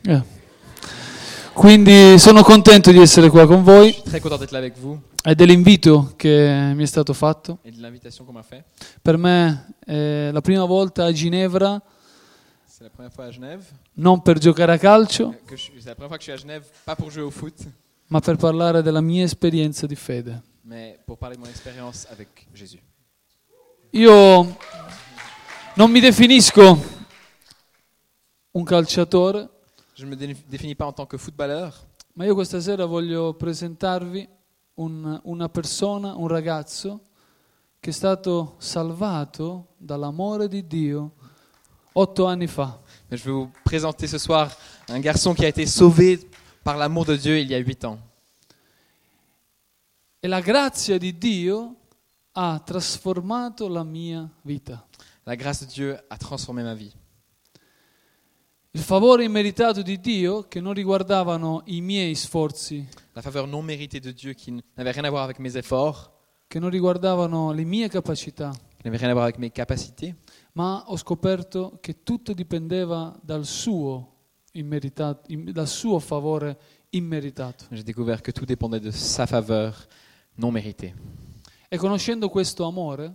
Quindi sono contento di essere qua con Je voi suis très content d'être là avec vous e dell'invito che mi è stato fatto. et de l'invitation qu'on m'a fait. Per me è la prima volta a Ginevra, C'est la première fois à Genève. non per giocare a calcio, C'est la première fois que je suis à Genève, pas pour jouer au foot, ma per parlare della mia esperienza di fede. mais pour parler de mon expérience avec Jésus. Io non mi definisco un calciatore, Je ne me définis pas en tant que footballeur, ma io questa sera voglio presentarvi una persona, un ragazzo che è stato salvato dall'amore di Dio 8 anni fa. mais je vais vous présenter ce soir un garçon qui a été sauvé par l'amour de Dieu il y a 8 ans. E la grazia di Dio ha trasformato la mia vita. La grâce de Dieu a transformé ma vie. Il favore immeritato di Dio, che non riguardavano i miei sforzi, La faveur non méritée de Dieu qui n'avait rien à voir avec mes efforts, che non riguardavano le mie capacità, qui n'avait rien à voir avec mes capacités, ma ho scoperto che tutto dipendeva dal suo favore immeritato. j'ai découvert que tout dépendait de sa faveur non méritée. E conoscendo questo amore,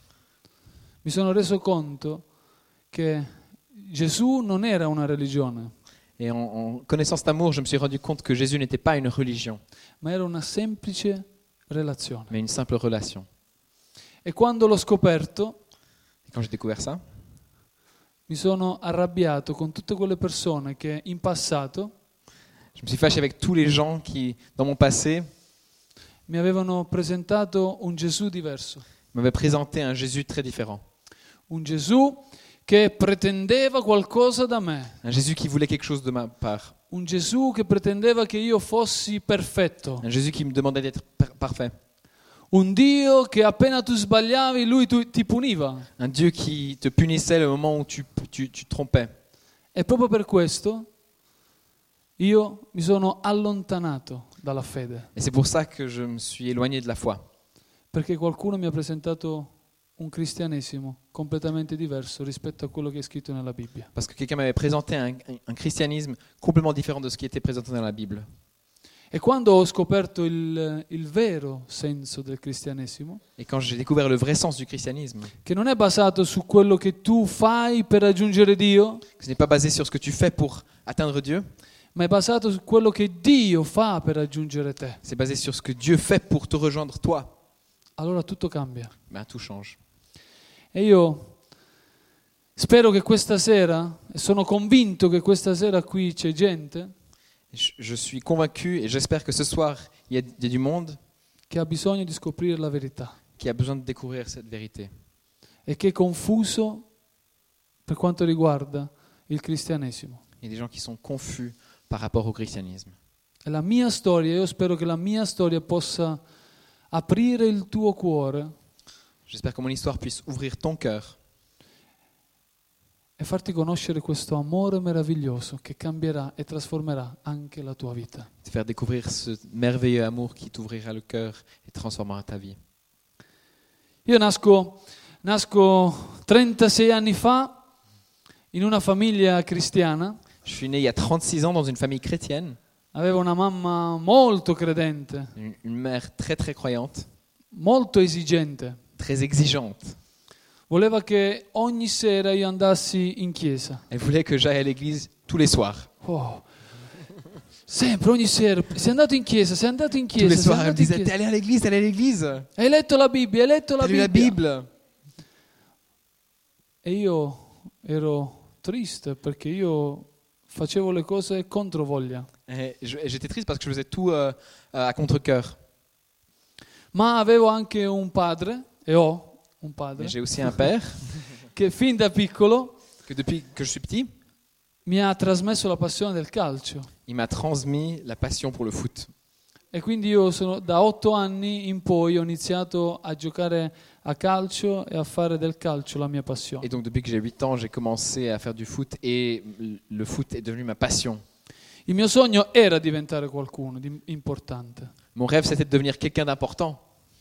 mi sono reso conto che Gesù non era una religione, Et en connaissant cet amour, je me suis rendu compte que Jésus n'était pas une religion, ma era una semplice relazione. mais une simple relation. E quando l'ho scoperto, Et quand j'ai découvert ça, mi sono arrabbiato con tutte quelle persone che in passato je me suis fâché avec tous les gens qui, dans mon passé, mi avevano presentato un Gesù diverso, m'avaient présenté un Jésus très différent. un Gesù che pretendeva qualcosa da me, Un Jésus qui voulait quelque chose de ma part. un Gesù che pretendeva che io fossi perfetto, Un Jésus qui me demandait d'être parfait. un Dio che appena tu sbagliavi lui ti puniva. Un Dieu qui te punissait le moment où tu te trompais. E proprio per questo io mi sono allontanato dalla fede, Et c'est pour ça que je me suis éloigné de la foi. perché qualcuno mi ha presentato un cristianesimo completamente diverso rispetto a quello che è scritto nella Bibbia. Parce que quelqu'un m'avait présenté un christianisme complètement différent de ce qui était présenté dans la Bible. E quando ho scoperto il vero senso del cristianesimo, Et quand j'ai découvert le vrai sens du christianisme, che non è basato su quello che tu fai per raggiungere Dio, que ce n'est pas basé sur ce que tu fais pour atteindre Dieu, ma è basato su quello che Dio fa per raggiungere te, c'est basé sur ce que Dieu fait pour te rejoindre toi, allora tutto cambia. ben tout change. E io spero che questa sera, e sono convinto che questa sera qui c'è gente Je suis convaincu et j'espère que ce soir, il y a du monde che ha bisogno di scoprire la verità qui a besoin de découvrir cette vérité e che è confuso per quanto riguarda il cristianesimo. Il y a des gens qui sont confus par rapport au christianisme. E la mia storia, io spero che la mia storia possa aprire il tuo cuore J'espère que mon histoire puisse ouvrir ton cœur e farti conoscere questo amore meraviglioso che cambierà e trasformerà anche la tua vita. te faire découvrir ce merveilleux amour qui t'ouvrira le cœur et transformera ta vie. Io nasco 36 anni fa in una famiglia cristiana, Je suis né il y a 36 ans dans une famille chrétienne, avevo una mamma molto credente, une mère très très croyante, molto esigente. très exigeante. Voleva che ogni sera io andassi in chiesa. Elle voulait que j'aille à l'église tous les soirs. Oh. Sempre, ogni sera. Sei andato in chiesa, sei andato in Tous les chiesa, sei soirs, elle me andato in disait, t'es chiesa. allé à l'église, t'es allé à l'église. Hai letto la Bibbia, hai letto la T'as lu la Bibbia. Bible. E io ero triste perché io facevo le cose contro voglia. Et j'étais triste parce que je faisais tout à contre-cœur. Ma avevo anche un padre, e ho un padre, Mais j'ai aussi un père che fin da piccolo que depuis que je suis petit, mi ha trasmesso la passione del calcio. il m'a transmis la passion pour le foot. E quindi io da 8 anni in poi ho iniziato a giocare a calcio e a fare del calcio la mia passione. Et donc depuis que j'ai 8 ans, j'ai commencé à faire du foot et le foot est devenu ma passion. Il mio sogno era diventare qualcuno di importante. Mon rêve, c'était de devenir quelqu'un d'important.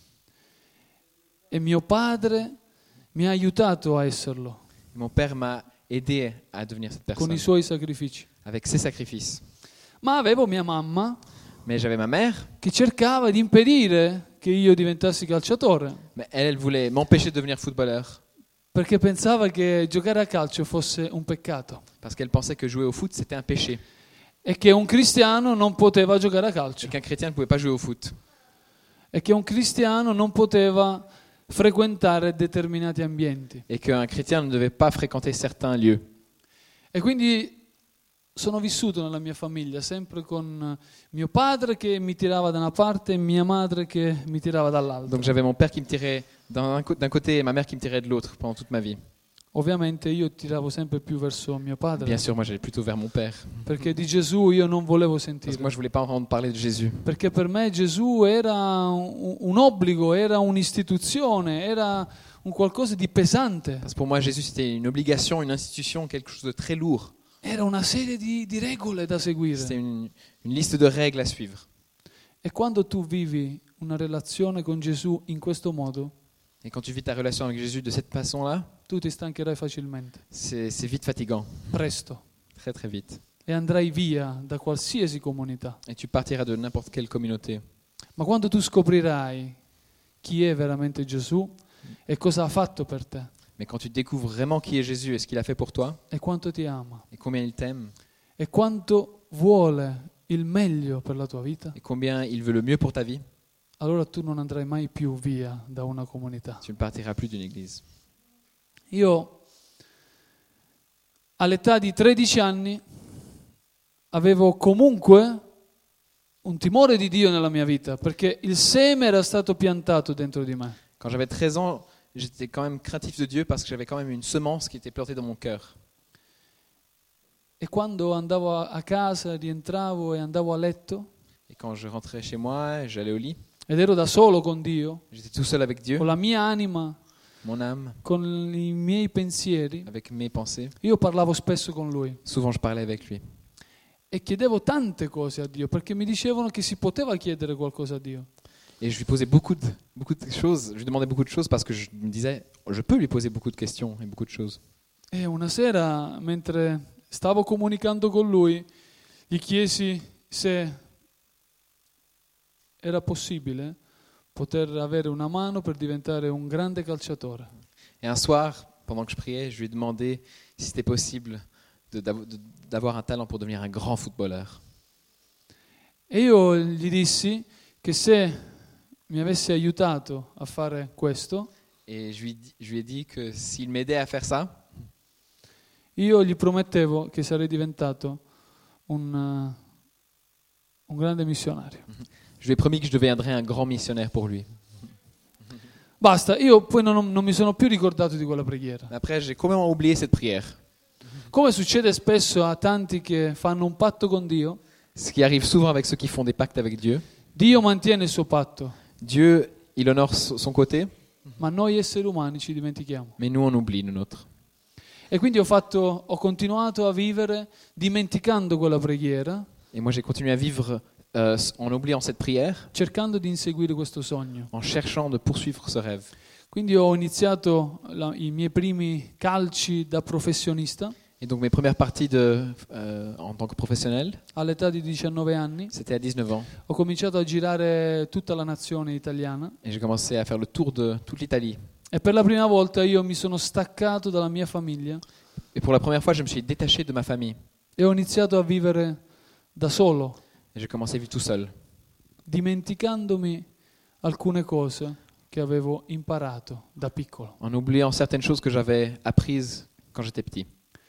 E mio padre mi ha aiutato a esserlo Mon père m'a aidé à devenir cette con personne i suoi sacrifici. avec ses sacrifices. Ma avevo mia mamma Mais j'avais ma mère, che cercava di impedire che io diventassi calciatore, mais elle voulait m'empêcher de devenir footballeur perché pensava che giocare a calcio fosse un peccato parce qu'elle pensait que jouer au foot c'était un péché e che un cristiano non poteva giocare a calcio et qu'un chrétien ne pouvait pas jouer au foot e che un cristiano non poteva frequentare determinati ambienti. et qu'un chrétien ne devait pas fréquenter certains lieux. E quindi sono vissuto nella mia famiglia sempre con mio padre che mi tirava da una parte e mia madre che mi tirava dall'altra. Donc j'avais mon père qui me tirait d'un côté et ma mère qui me tirait de l'autre pendant toute ma vie. Ovviamente io tiravo sempre più verso mio padre, Bien sûr, moi j'allais plutôt vers mon père perché di Gesù io non volevo parce que sentire. moi je voulais pas entendre parler de Jésus. Perché per me Gesù era un obbligo, era un'istituzione, era un qualcosa di pesante, Parce que pour moi Jésus c'était une obligation, une institution, quelque chose de très lourd. era una serie di regole da seguire. C'était une liste de règles à suivre. E quando tu vivi una relazione con Gesù in questo modo, Et quand tu vis ta relation avec Jésus de cette façon-là, tu ti stancherai facilmente, c'est vite fatigant, presto, très très vite. e andrai via da qualsiasi comunità. Et tu partiras de n'importe quelle communauté. Ma quando tu scoprirai chi è veramente Gesù e cosa ha fatto per te Mais quand tu découvres vraiment qui est Jésus et ce qu'il a fait pour toi, e quanto ti ama et combien il t'aime, e quanto vuole il meglio per la tua vita, et combien il veut le mieux pour ta vie, allora tu non andrai mai più via da una comunità. tu ne partiras plus d'une église. Io all'età di 13 anni avevo comunque un timore di Dio nella mia vita, perché il seme era stato piantato dentro di me. Quand j'avais 13 ans, j'étais quand même craintif de Dieu parce que j'avais quand même une semence qui était plantée dans mon cœur. E quando andavo a casa, rientravo e andavo a letto, Et quand je rentrais chez moi, j'allais au lit, ed ero da solo con Dio, j'étais tout seul avec Dieu, con la mia anima, mon âme, con i miei pensieri, avec mes pensées. io parlavo spesso con Lui Souvent je parlais avec lui. e chiedevo tante cose a Dio, perché mi dicevano che si poteva chiedere qualcosa a Dio. Et je lui posais beaucoup de choses, je lui demandais beaucoup de choses parce que je me disais, je peux lui poser beaucoup de questions et beaucoup de choses. E una sera, mentre stavo comunicando con Lui, gli chiesi se era possibile poter avere una mano per diventare un grande calciatore. Et un soir, pendant que je priais, je lui ai demandé si c'était possible d'avoir un talent pour devenir un grand footballeur. E io gli dissi che se mi avesse aiutato a fare questo, Et je lui ai dit que s'il m'aidait à faire ça, io gli promettevo che sarei diventato un grande missionario. je lui ai promis que je deviendrais un grand missionnaire pour lui. Basta, io poi non mi sono più ricordato di quella preghiera. Après, j'ai complètement oublié cette prière. Come succede spesso a tanti che fanno un patto con Dio, Ce qui arrive souvent avec ceux qui font des pactes avec Dieu. Dio mantiene il suo patto, Dieu, il honore son côté, ma noi esseri umani ci dimentichiamo. mais nous, on oublie le nôtre. E quindi ho continuato a vivere dimenticando quella preghiera, Et moi, j'ai continué à vivre en oubliant cette prière, cercando di inseguire questo sogno. en cherchant de poursuivre ce rêve. Quindi ho iniziato i miei primi calci da professionista Et donc mes premières parties en tant que professionnel, all'età di 19 anni. c'était à 19 ans. Ho cominciato a girare tutta la nazione italiana Et j'ai commencé à faire le tour de toute l'Italie. e per la prima volta io mi sono staccato dalla mia famiglia Et pour la première fois, je me suis détaché de ma famille. e ho iniziato a vivere da solo, Et j'ai commencé à vivre tout seul, dimenticandomi alcune cose che avevo imparato da piccolo. en oubliant certaines choses que j'avais apprises quand j'étais petit.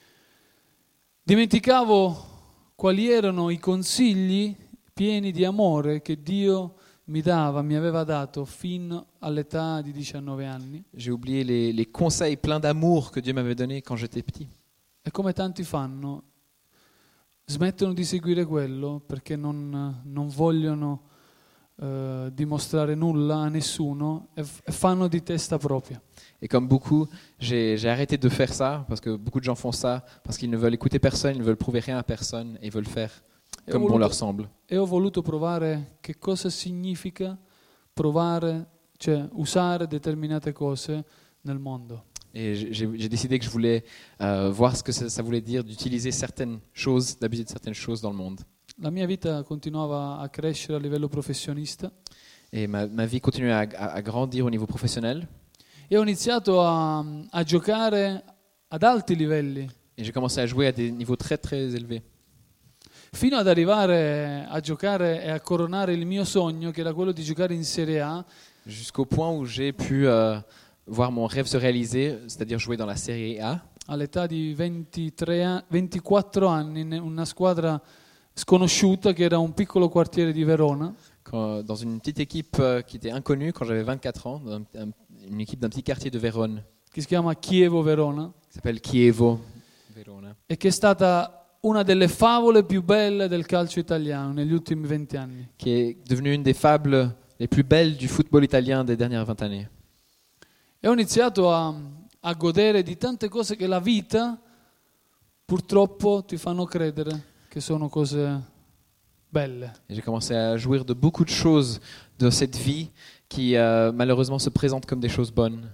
Dimenticavo quali erano i consigli pieni di amore che Dio mi aveva dato fino all'età di 19 anni. J'ai oublié les conseils pleins d'amour que Dieu m'avait donnés quand j'étais petit. E come tanti fanno, smettono di seguire quello perché non vogliono dimostrare nulla a nessuno e fanno di testa propria. Et comme beaucoup, j'ai arrêté de faire ça, parce que beaucoup de gens font ça, parce qu'ils ne veulent écouter personne, ils ne veulent prouver rien à personne, et ils veulent faire comme bon leur semble. E ho voluto provare che cosa significa provare, cioè usare determinate cose nel mondo. Et j'ai décidé que je voulais voir ce que ça voulait dire d'utiliser certaines choses, d'abuser de certaines choses dans le monde. La mia vita continuava a crescere a livello professionista Et ma vie continuait à grandir au niveau professionnel. e ho iniziato a giocare ad alti livelli, Et j'ai commencé à jouer à des niveaux très très élevés. fino ad arrivare a giocare e a coronare il mio sogno, che era quello di giocare in Serie A, Jusqu'au point où j'ai pu voir mon rêve se réaliser, c'est-à-dire jouer dans la Serie A. all'età di 24 anni, in una squadra sconosciuta che era un piccolo quartiere di Verona. Dans une petite équipe qui était inconnue quand j'avais 24 ans, une équipe d'un petit quartier de Vérone, Che si chiama Chievo Verona, qui s'appelle Chievo Verona, e che è stata una delle favole più belle del calcio italiano negli ultimi 20 anni. qui est devenue une des fables les plus belles du football italien des dernières 20 années. E ho iniziato a godere di tante cose che la vita purtroppo ti fanno credere che sono cose belle. Et j'ai commencé à jouir de beaucoup de choses de cette vie qui malheureusement se présentent comme des choses bonnes.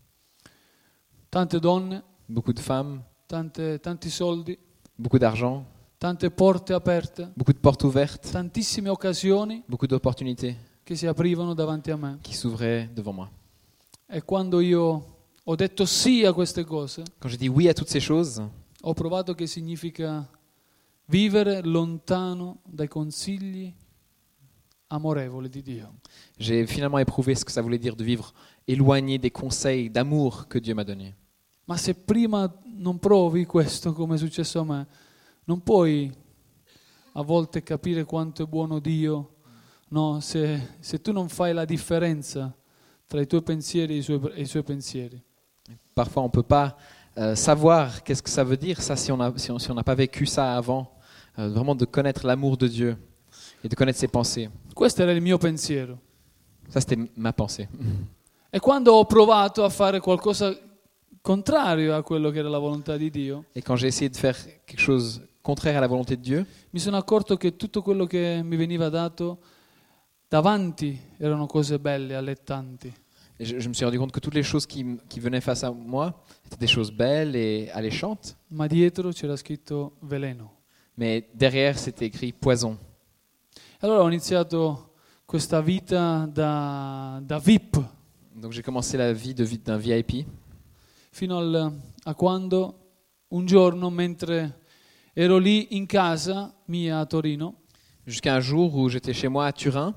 Tante donne, Beaucoup de femmes, tanti soldi, beaucoup d'argent, tante porte aperte, beaucoup de portes ouvertes, tantissime occasioni beaucoup d'opportunités che si aprivano davanti a me. qui s'ouvraient devant moi. E quando io ho detto sì a queste cose, Quand j'ai dit oui à toutes ces choses, ho provato che significa vivere lontano dai consigli amorevoli di Dio. j'ai finalement éprouvé ce que ça voulait dire de vivre éloigné des conseils d'amour que Dieu m'a donnés. Ma se prima non provi questo, come è successo a me, non puoi a volte capire quanto è buono Dio, no? Se tu non fai la differenza tra i tuoi pensieri e i suoi pensieri. Parfois, on ne peut pas savoir qu'est-ce que ça veut dire, ça, si on n'a pas vécu ça avant, vraiment de connaître l'amour de Dieu et de connaître ses pensées. Questo era il mio pensiero. Ça, c'était ma pensée. E quando ho provato a fare qualcosa contrario a quello che era la volontà di Dio, Et quand j'ai essayé de faire quelque chose contraire à la volonté de Dieu, mi sono accorto che tutto quello che mi veniva dato davanti erano cose belle, allettanti. et je me suis rendu compte que toutes les choses qui venaient face à moi étaient des choses belles et alléchantes, Ma dietro c'era scritto veleno. mais derrière, c'était écrit poison. Allora ho iniziato questa vita da VIP Donc j'ai commencé la vie d'un VIP fino a quando un giorno, mentre ero lì in casa mia a Torino, jusqu'à un jour où j'étais chez moi à Turin.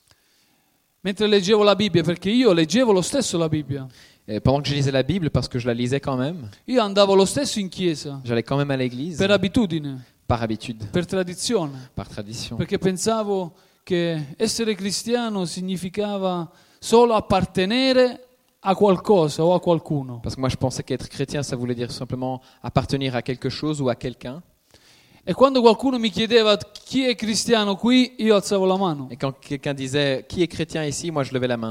mentre leggevo la Bibbia, perché io leggevo lo stesso la Bibbia, Et pendant que je lisais la Bible, parce que je la lisais quand même, io andavo lo stesso in chiesa j'allais quand même à l'église, per abitudine, par habitude, per tradizione, par tradition. perché pensavo che essere cristiano significava solo appartenere a qualcosa o a qualcuno. Parce que moi je pensais qu'être chrétien, ça voulait dire simplement appartenir à quelque chose ou à quelqu'un. E quando qualcuno mi chiedeva chi è cristiano qui, io alzavo la mano. Et quand quelqu'un disait qui est chrétien ici, moi je levais la main.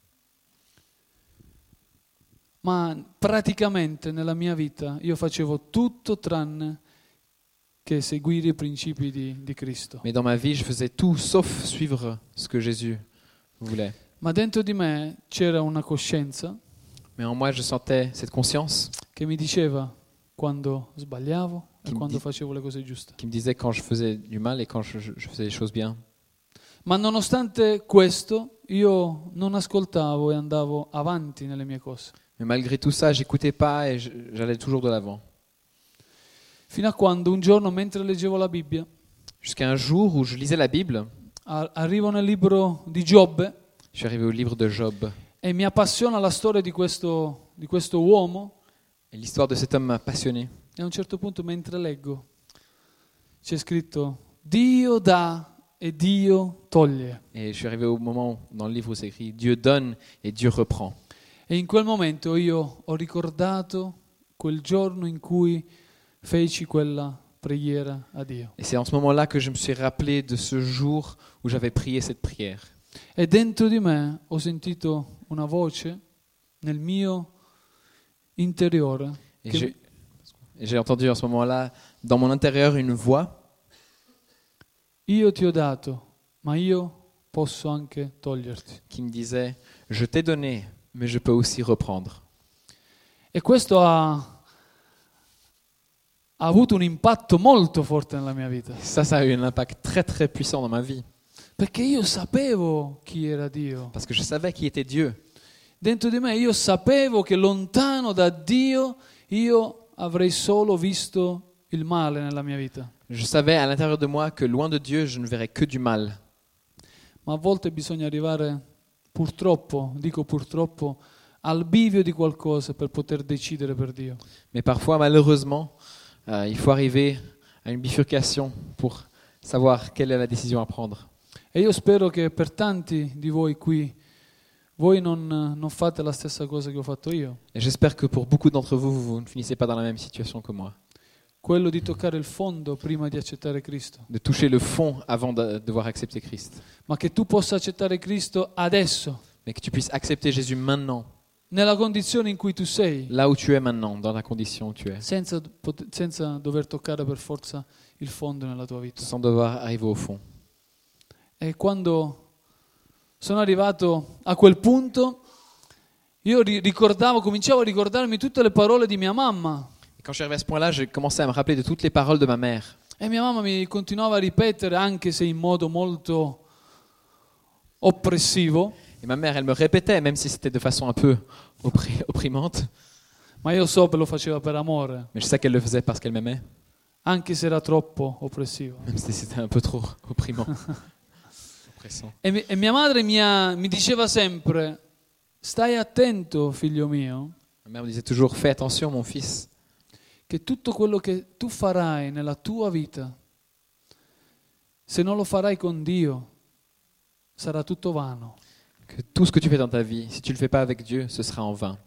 Ma praticamente nella mia vita io facevo tutto tranne che seguire i principi di Cristo. Mais dans ma vie, je faisais tout sauf suivre ce que Jésus voulait. Ma dentro di me c'era una coscienza Mais en moi, je sentais cette conscience che mi diceva quando sbagliavo e Chi mi quando di- facevo le cose giuste. qui me disait quand je faisais du mal et quand je faisais les choses bien. Ma nonostante questo io non ascoltavo e andavo avanti nelle mie cose. Mais malgré tout ça, j'écoutais pas et j'allais toujours de l'avant. Fino a quando un giorno, mentre leggevo la Bibbia, Jusqu'à un jour où je lisais la Bible, arrivo nel libro di Giobbe je suis arrivé au livre de Job. e mi appassiona la storia di questo uomo. Et l'histoire de cet homme m'a passionné. E a un certo punto, mentre leggo, c'è scritto Dio dà e Dio toglie. Et je suis arrivé au moment dans le livre où c'est écrit Dieu donne et Dieu reprend. E in quel momento io ho ricordato quel giorno in cui feci quella preghiera a Dio. Et c'est en ce moment-là que je me suis rappelé de ce jour où j'avais prié cette prière. E dentro di me ho sentito una voce nel mio interiore Et che, j'ai entendu en ce moment-là, dans mon intérieur, une voix io ti ho dato, ma io posso anche toglierti. qui me disait, je t'ai donné, mais je peux aussi reprendre. E questo ha avuto un impatto molto forte nella mia vita. Ça a eu un impact très très puissant dans ma vie. Perché io sapevo chi era Dio. Parce que je savais qui était Dieu. Dentro di me io sapevo che lontano da Dio io avrei solo visto il male nella mia vita. Je savais à l'intérieur de moi que loin de Dieu, je ne verrais que du mal. Ma a volte bisogna arrivare, purtroppo, dico purtroppo, al bivio di qualcosa per poter decidere per Dio. Mais parfois, malheureusement, il faut arriver à une bifurcation pour savoir quelle est la décision à prendre. E io spero che per tanti di voi qui, voi non fate la stessa cosa che ho fatto io. Et j'espère que pour beaucoup d'entre vous, vous ne finissez pas dans la même situation que moi. Quello di toccare il fondo prima di accettare Cristo. De toucher le fond avant de devoir accepter Christ. Ma che tu possa accettare Cristo adesso, Mais que tu puisses accepter Jésus maintenant, nella condizione in cui tu sei, là où tu es maintenant, dans la condition où tu es, senza dover toccare per forza il fondo nella tua vita. sans devoir arriver au fond. E quando sono arrivato a quel punto, io cominciavo a ricordarmi tutte le parole di mia mamma. Et quand je suis arrivé à ce point-là, j'ai commencé à me rappeler de toutes les paroles de ma mère. E mia mamma mi continuava a ripetere, anche se in modo molto oppressivo, Et ma mère, elle me répétait, même si c'était de façon un peu opprimante, ma io so che lo faceva per amore, mais je sais qu'elle le faisait parce qu'elle m'aimait, anche se era troppo oppressivo. même si c'était un peu trop opprimant, oppressant. E mia madre mi diceva sempre, stai attento, figlio mio, Ma mère me disait toujours, fais attention mon fils, che tutto quello che tu farai nella tua vita, se non lo farai con Dio, sarà tutto vano. que tout ce que tu fais dans ta vie, si tu ne le fais pas avec Dieu, ce sera en vain.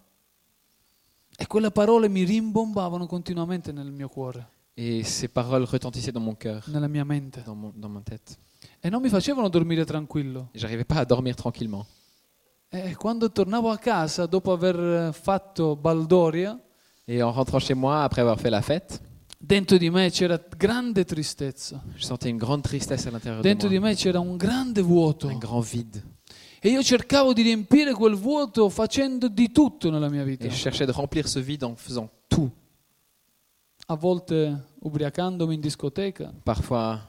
E quelle parole mi rimbombavano continuamente nel mio cuore, Et ces paroles retentissaient dans mon cœur, nella mia mente, dans ma tête. e non mi facevano dormire tranquillo. Et j'arrivais pas à dormir tranquillement. E quando tornavo a casa, dopo aver fatto baldoria, Et en rentrant chez moi, après avoir fait la fête, dentro di me c'era grande tristezza, je sentais une grande tristesse à l'intérieur dentro de di moi, me c'era un grande vuoto. un grand vide. E io cercavo di riempire quel vuoto facendo di tutto nella mia vita. Et je cherchais de remplir ce vide en faisant tout. A volte ubriacandomi in discoteca, Parfois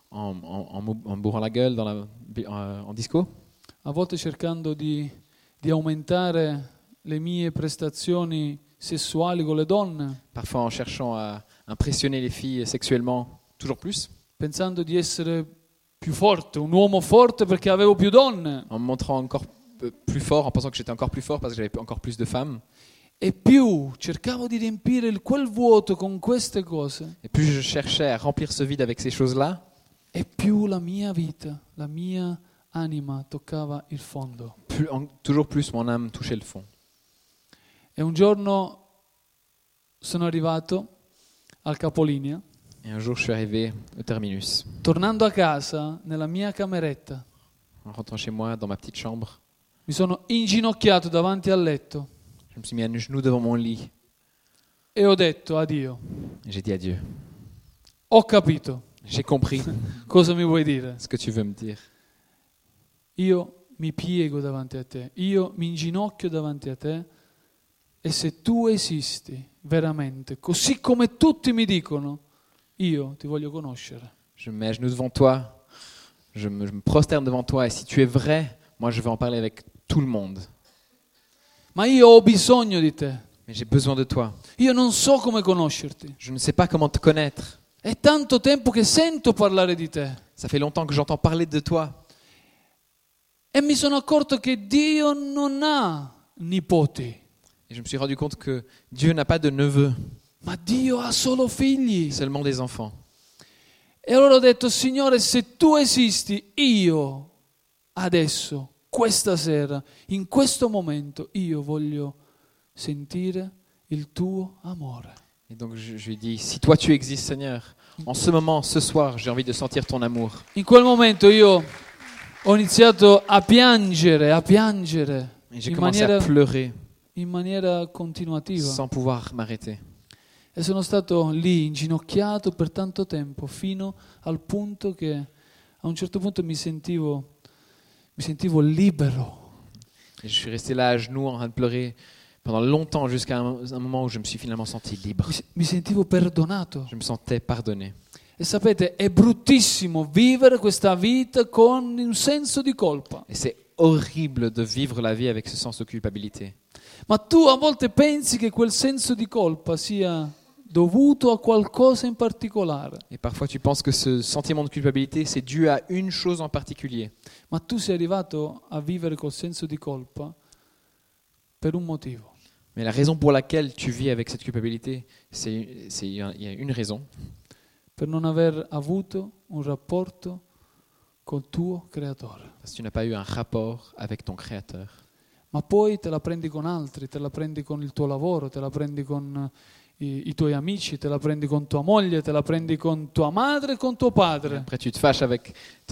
en bourrant la gueule en disco, a volte cercando di aumentare le mie prestazioni sessuali con le donne, parfois en cherchant à impressionner les filles sexuellement toujours plus, pensando di essere più forte, un uomo forte perché avevo più donne. en me montrant encore plus fort, en pensant que j'étais encore plus fort parce que j'avais encore plus de femmes. E più cercavo di riempire quel vuoto con queste cose, Et plus je cherchais à remplir ce vide avec ces choses-là, e più la mia vita, la mia anima toccava il fondo. toujours plus mon âme touchait le fond. E un giorno sono arrivato al capolinea, Et un jour, je suis arrivé au terminus. tornando a casa nella mia cameretta, En rentrant chez moi, dans ma petite chambre, mi sono inginocchiato davanti al letto je me suis mis à genoux devant mon lit e ho detto a Dio, et j'ai dit à Dieu, ho capito, j'ai compris cosa mi vuoi dire? ce que tu veux me dire. Io mi piego davanti a te, io mi inginocchio davanti a te, e se tu esisti veramente, così come tutti mi dicono, io ti voglio conoscere. Je me mets à genoux devant toi, je me prosterne devant toi, et si tu es vrai, moi je vais en parler avec tout le monde. Ma io ho bisogno di te, Mais j'ai besoin de toi. io non so come conoscerti. Je ne sais pas comment te connaître. È tanto tempo che sento parlare di te Ça fait longtemps que j'entends parler de toi. e mi sono accorto che Dio non ha nipoti, Et je me suis rendu compte que Dieu n'a pas de neveux, ma Dio ha solo figli. seulement des enfants. E allora ho detto, Signore, se tu esisti, io adesso, questa sera, in questo momento, io voglio sentire il tuo amore. Et donc je lui ai dit, si toi tu existes Seigneur, en ce moment, ce soir, j'ai envie de sentir ton amour. In quel momento io ho iniziato a piangere Et j'ai commencé à pleurer in maniera continuativa. sans pouvoir m'arrêter. E sono stato lì inginocchiato per tanto tempo, fino al punto che a un certo punto mi sentivo libero. Et je suis resté là à genoux en train de pleurer pendant longtemps, jusqu'à un moment où je me suis finalement senti libre. Mi sentivo perdonato. Je me sentais pardonné. E sapete, è bruttissimo vivere questa vita con un senso di colpa. Et c'est horrible de vivre la vie avec ce sens de culpabilité. Ma tu a volte pensi che quel senso di colpa sia dovuto a qualcosa in particolare. Et parfois tu penses que ce sentiment de culpabilité, c'est dû à une chose en particulier. Ma tu sei arrivato a vivere col senso di colpa per un motivo. Mais la raison pour laquelle tu vis avec cette culpabilité, il y a une raison. Per non aver avuto un rapporto col tuo creatore. Parce que tu n'as pas eu un rapport avec ton Créateur. Ma poi te la prendi con altri, te la prendi con il tuo lavoro, te la prendi con i tuoi amici, te la prendi con tua moglie, te la prendi con tua madre e con tuo padre. Après tu te fâches avec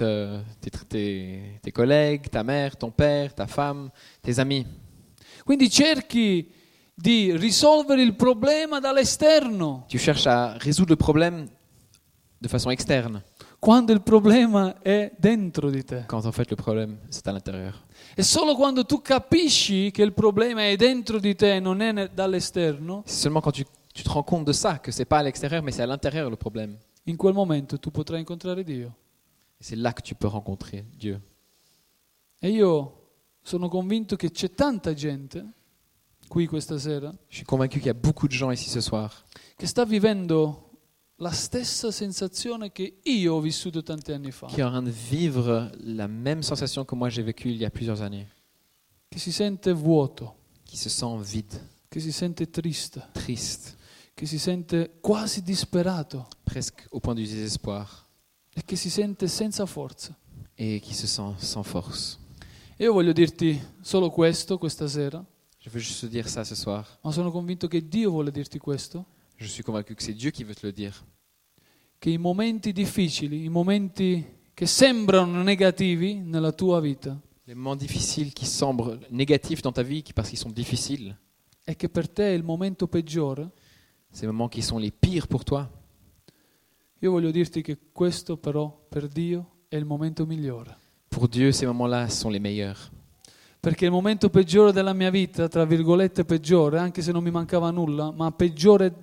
tes collègues, ta mère, ton père, ta femme, tes amis. Quindi cerchi di risolvere il problema dall'esterno, Tu cherches à résoudre le problème de façon externe, quando il problema è dentro di te. quand en fait le problème c'est à l'intérieur. E solo quando tu capisci che il problema è dentro di te, non è dall'esterno, C'est seulement quand tu te rends compte de ça, que c'est pas à l'extérieur mais c'est à l'intérieur le problème. in quel momento tu potrai incontrare Dio. Et c'est là que tu peux rencontrer Dieu. E io sono convinto che c'è tanta gente qui questa sera Je suis convaincu qu'il y a beaucoup de gens ici ce soir che sta vivendo la stessa sensazione che io ho vissuto tanti anni fa, qui est en train de vivre la même sensation que moi j'ai vécue il y a plusieurs années, che si sente vuoto, qui se sent vide, che si sente triste, triste, che si sente quasi disperato presque au point du désespoir e che si sente senza forza. et qui se sent sans force. E io voglio dirti solo questo questa sera, Je veux juste te dire ça ce soir. ma sono convinto che Dio vuole dirti questo, Je suis convaincu que c'est Dieu qui veut te le dire. che i momenti difficili, i momenti che sembrano negativi nella tua vita, Les moments difficiles qui semblent négatifs dans ta vie parce qu'ils sont difficiles, e che per te è il momento peggiore, ces moments qui sont les pires pour toi, io voglio dirti che questo però per Dio è il momento migliore. pour Dieu ces moments-là sont les meilleurs. Perché il momento peggiore della mia vita, tra virgolette peggiore, anche se non mi mancava nulla, ma peggiore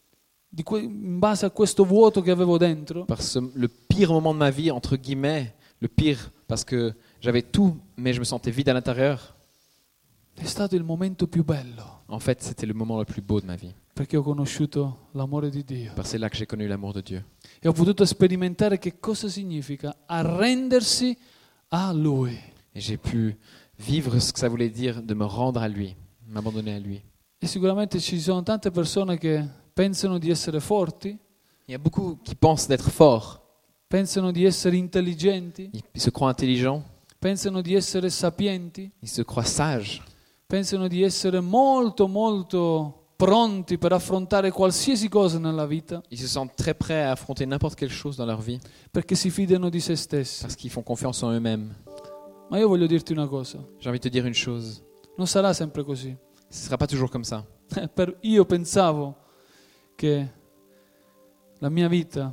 in base a questo vuoto che avevo dentro, Parce que le pire moment de ma vie, entre guillemets, le pire parce que j'avais tout mais je me sentais vide à l'intérieur, è stato il momento più bello, en fait c'était le moment le plus beau de ma vie. perché ho conosciuto l'amore di Dio Parce que c'est là que j'ai connu l'amour de Dieu. e ho potuto sperimentare che cosa significa arrendersi a Lui. Et j'ai pu vivre ce que ça voulait dire de me rendre à lui, m'abandonner à lui. E sicuramente ci sono tante persone che pensano di essere forti, Il y a beaucoup qui pensent d'être forts, pensano di essere intelligenti, ils se croient intelligents, pensano di essere sapienti, ils se croient sages, pensano di essere molto molto pronti per affrontare qualsiasi cosa nella vita, ils se sentent très prêts à affronter n'importe quelle chose dans leur vie perché si fidano di se stessi. parce qu'ils font confiance en eux-mêmes. Ma io voglio dirti una cosa, J'ai envie de te dire une chose, non sarà sempre così. ce ne sera pas toujours comme ça. Io pensavo che la mia vita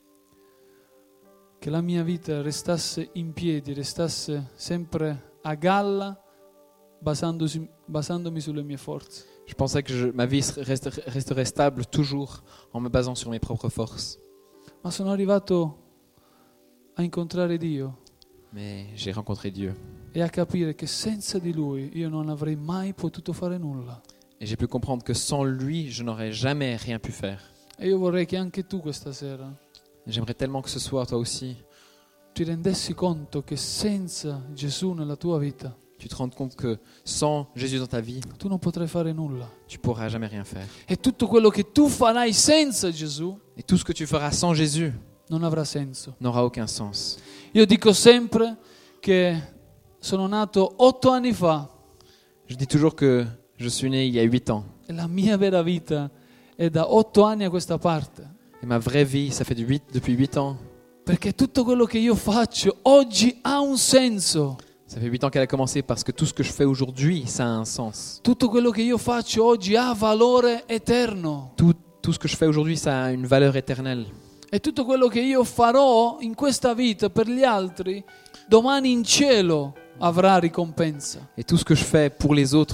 restasse in piedi, restasse sempre a galla, basandomi sulle mie forze. Je pensais que ma vie resterait stable toujours en me basant sur mes propres forces. Ma sono arrivato a incontrare Dio Mais j'ai rencontré Dieu e a capire che senza di Lui io non avrei mai potuto fare nulla. et j'ai pu comprendre que sans lui, je n'aurais jamais rien pu faire. E io vorrei che anche tu questa sera J'aimerais tellement que ce soir, toi aussi, ti rendessi conto che senza Gesù nella tua vita tu te rendes compte que sans Jésus dans ta vie, tu non potrai fare nulla. tu pourras jamais rien faire. E tutto quello che tu farai senza Gesù Et tout ce que tu feras sans Jésus non avrà senso. n'aura aucun sens. Io dico sempre che sono nato 8 anni fa Je dis toujours que je suis né il y a 8 ans. e la mia vera vita è da 8 anni a questa parte. Et ma vraie vie, ça fait depuis 8 ans. Perché tutto quello che io faccio oggi ha un senso. Ça fait 8 ans qu'elle a commencé parce que tout ce que je fais aujourd'hui, ça a un sens. Tutto quello che io faccio oggi ha valore eterno. Tout ce que je fais aujourd'hui, ça a une valeur éternelle. E tutto quello che io farò in questa vita per gli altri, domani in cielo avrà ricompensa. Et tout ce que je fais pour les autres,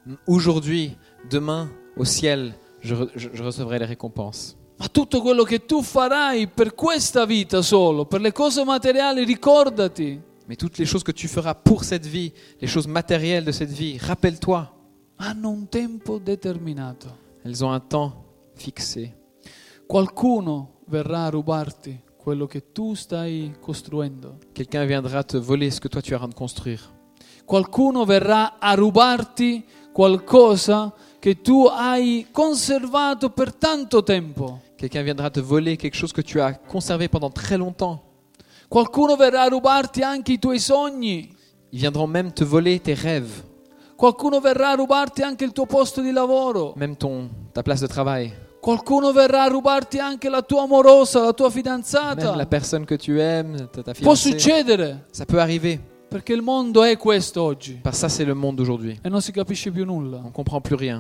Aujourd'hui, demain, au ciel, je recevrai les récompenses. Ma tutto quello che tu farai per questa vita solo, per le cose materiali, ricordati, Mais toutes les choses que tu feras pour cette vie, les choses matérielles de cette vie, rappelle-toi, hanno un tempo determinato. elles ont un temps fixé. Qualcuno verrà a rubarti quello che tu stai costruendo. Quelqu'un viendra te voler ce que toi tu es en train de construire. Qualcuno verrà a rubarti qualcosa che tu hai conservato per tanto tempo. Quelqu'un viendra te voler quelque chose que tu as conservé pendant très longtemps. Qualcuno verrà a rubarti anche i tuoi sogni. Ils viendront même te voler tes rêves, Qualcuno verrà a rubarti anche il tuo posto di lavoro. même ta place de travail. Qualcuno verrà a rubarti anche la tua amorosa, la tua Même la fidanzata. personne que tu aimes, ta Può fiancée. succedere, Ça peut arriver. perché il mondo è questo oggi Parce que ça, c'est le monde d'aujourd'hui. e non si capisce più nulla. On ne comprend plus rien.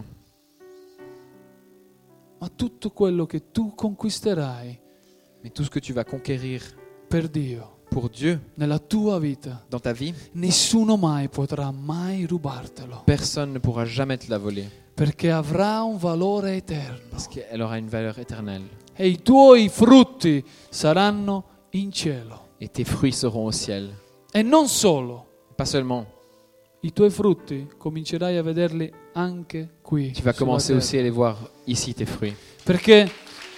Ma tutto quello che tu conquisterai Mais tout ce que tu vas conquérir per Dio pour Dieu nella tua vita, dans ta vie, nessuno mai potrà mai rubartelo, personne ne pourra jamais te la voler. perché avrà un valore eterno Parce qu'elle aura une valeur éternelle. e i tuoi frutti saranno in cielo. Et tes fruits seront au ciel. E non solo, Pas seulement. i tuoi frutti comincerai a vederli anche qui. Tu vas sulla commencer terra. aussi à les voir ici, tes fruits. Perché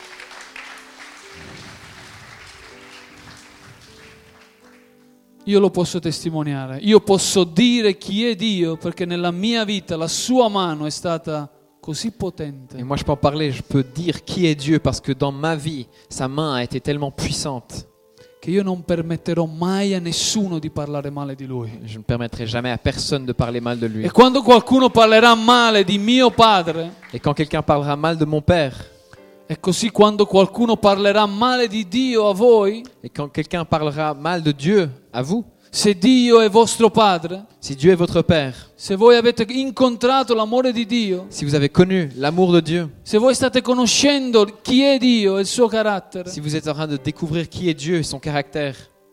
io lo posso testimoniare, io posso dire chi è Dio perché nella mia vita la sua mano è stata così Et potente moi, je peux en parler, je peux dire qui est Dieu parce que dans ma vie, sa main a été tellement puissante. che io non permetterò mai a nessuno di parlare male di Lui. Je ne permettrai jamais à personne de parler mal de lui. E quando qualcuno parlerà male di mio padre, Et quand quelqu'un parlera mal de mon père, e così quando qualcuno parlerà male di Dio a voi, et quand quelqu'un parlera mal de Dieu à vous, se Dio è vostro padre, si Dieu est votre père, se voi avete incontrato l'amore di Dio, si vous avez connu l'amour de Dieu, se voi state conoscendo chi è Dio e il suo carattere, si vous êtes en train de découvrir qui est Dieu et son caractère,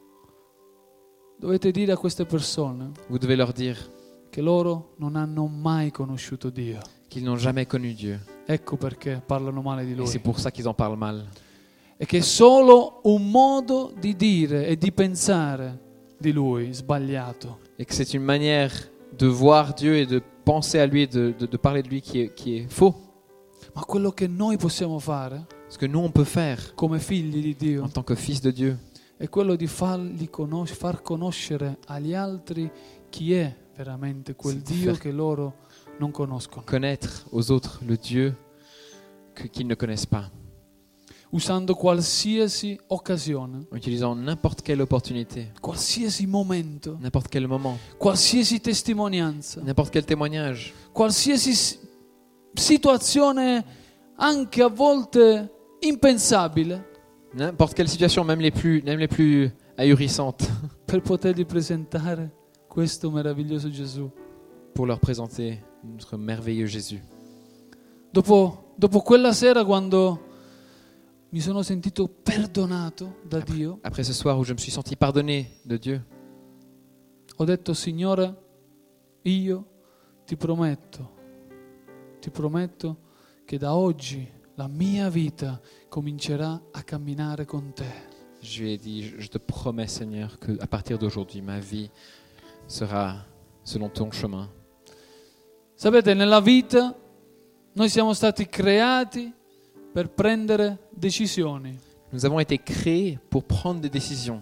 dovete dire a queste persone vous devez leur dire che loro non hanno mai conosciuto Dio. qu'ils n'ont jamais connu Dieu. Ecco perché parlano male di Et c'est Lui. pour ça qu'ils en parlent mal. E che è solo un modo di dire e di pensare di Lui sbagliato. Et que c'est une manière de voir Dieu et de penser à lui et de parler de lui qui est faux. Ma quello che noi possiamo fare Ce que nous, on peut faire come figli di Dio en tant que fils de Dieu, è quello di far conoscere agli altri chi è veramente quel Sì, Dio fer- che loro non conoscono, connaître aux autres le Dieu qu'ils ne connaissent pas, usando qualsiasi occasione, en utilisant n'importe quelle opportunité, qualsiasi momento, n'importe quel moment, qualsiasi testimonianza, n'importe quel témoignage, qualsiasi situazione anche a volte impensabile n'importe quelle situation, même les plus ahurissantes, per potergli presentare questo meraviglioso Gesù. pour leur présenter notre merveilleux Jésus. Dopo quella sera quando mi sono sentito perdonato da Dio, Après ce soir où je me suis senti pardonné de Dieu, ho detto: Signore, io ti prometto che da oggi la mia vita comincerà a camminare con te. je lui ai dit, je te promets Seigneur qu'à partir d'aujourd'hui, ma vie sera selon ton chemin. Sapete, nella vita noi siamo stati creati per prendere decisioni. Nous avons été créés pour prendre des décisions.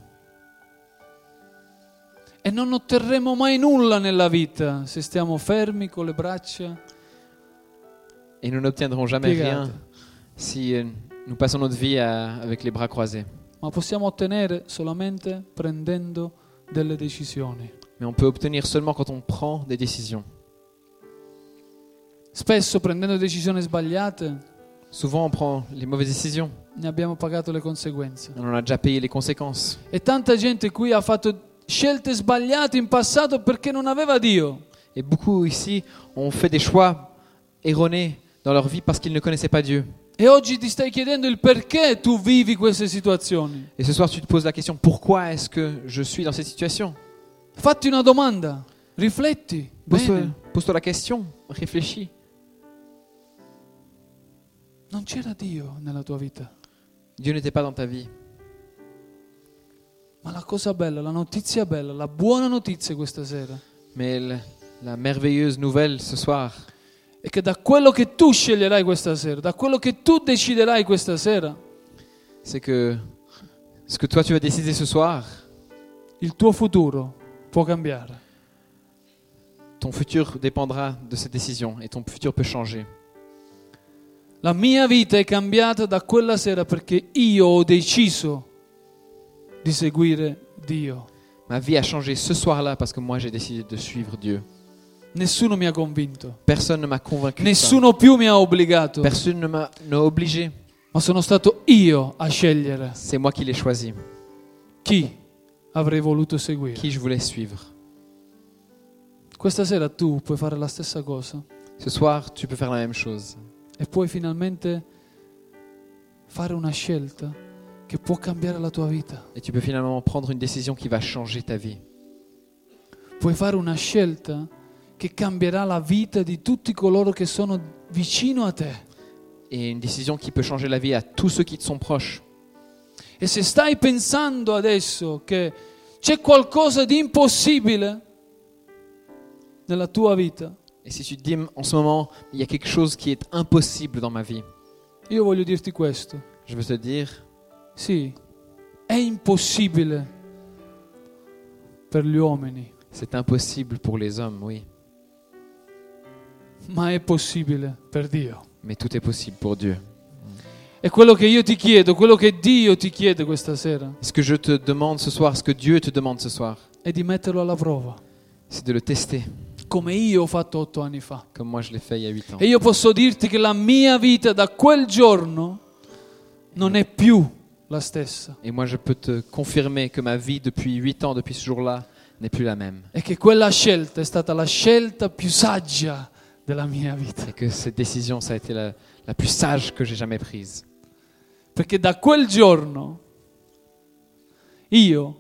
E non otterremo mai nulla nella vita se stiamo fermi con le braccia Et nous n'obtiendrons jamais piegate. rien si nous passons notre vie avec les bras croisés. Ma possiamo ottenere solamente prendendo delle decisioni. Mais on peut obtenir seulement quand on prend des décisions. Spesso prendendo decisioni sbagliate Souvent, on prend les mauvaises décisions. ne abbiamo pagato le conseguenze. On en a déjà payé les conséquences. E tanta gente qui ha fatto scelte sbagliate in passato perché non aveva Dio. Et beaucoup ici ont fait des choix erronés dans leur vie parce qu'ils ne connaissaient pas Dieu. E oggi ti stai chiedendo il perché tu vivi queste situazioni. Et ce soir, tu te poses la question, pourquoi est-ce que je suis dans cette situation? Fatti una domanda, rifletti bene. Pose-toi la question, réfléchis. Non c'era Dio nella tua vita. Dieu n'était pas dans ta vie. Ma la cosa bella, la notizia bella, la buona notizia questa sera Mais la merveilleuse nouvelle ce soir, è che da quello che tu sceglierai questa sera, da quello che tu deciderai questa sera, c'est que ce que toi tu vas décider ce soir, il tuo futuro può cambiare. ton futur dépendra de cette décision et ton futur peut changer. La mia vita è cambiata da quella sera perché io ho deciso di seguire Dio. Ma vie a changé ce soir-là parce que moi j'ai décidé de suivre Dieu. Nessuno mi ha convinto, Personne ne m'a convaincu de ça. nessuno più mi ha obbligato, Personne ne m'a obligé. ma sono stato io a scegliere C'est moi qui l'ai choisi, chi avrei voluto seguire. qui je voulais suivre. Questa sera tu puoi fare la stessa cosa Ce soir, tu peux faire la même chose. e puoi finalmente fare una scelta che può cambiare la tua vita. Et tu peux finalement prendre une décision qui va changer ta vie. Puoi fare una scelta che cambierà la vita di tutti coloro che sono vicino a te. Et une décision qui peut changer la vie à tous ceux qui te sont proches. E se stai pensando adesso che c'è qualcosa di impossibile nella tua vita, Et si tu te dis en ce moment, il y a quelque chose qui est impossible dans ma vie, io voglio dirti questo. je veux te dire, Sì, è impossibile per gli uomini, c'est impossible pour les hommes, oui. ma è possibile per Dio. Mais tout est possible pour Dieu. E quello che io ti chiedo, quello che Dio ti chiede questa sera, Ce que je te demande ce soir, ce que Dieu te demande ce soir, è di metterlo alla prova, c'est de le tester, come io ho fatto 8 anni fa. comme moi je l'ai fait il y a 8 ans. E io posso dirti che la mia vita da quel giorno non è più la stessa. Et moi je peux te confirmer que ma vie depuis 8 ans, depuis ce jour-là, n'est plus la même. E che quella scelta è stata la scelta più saggia della mia vita. Et que cette décision, ça a été la plus sage que j'ai jamais prise. Perché da quel giorno io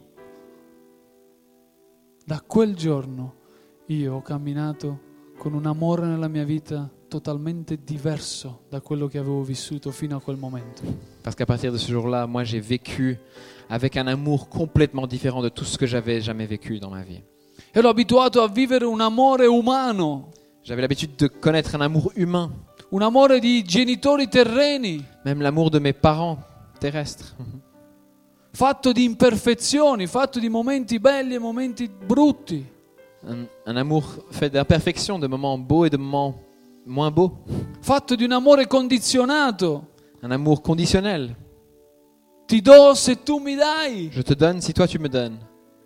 ho camminato con un amore nella mia vita totalmente diverso da quello che avevo vissuto fino a quel momento. Parce qu'à partir de ce jour-là, moi j'ai vécu avec un amour complètement différent de tout ce que j'avais jamais vécu dans ma vie. Ero abituato a vivere un amore umano, J'avais l'habitude de connaître un amour humain, un amore di genitori terreni, même l'amour de mes parents terrestres, fatto di imperfezioni, fatto di momenti belli e momenti brutti. un amour fait d'imperfection, de moments beaux et de moments moins beaux, Fatto di un amore condizionato. un amour conditionnel. Ti do se tu mi dai. Je te donne si toi tu me donnes.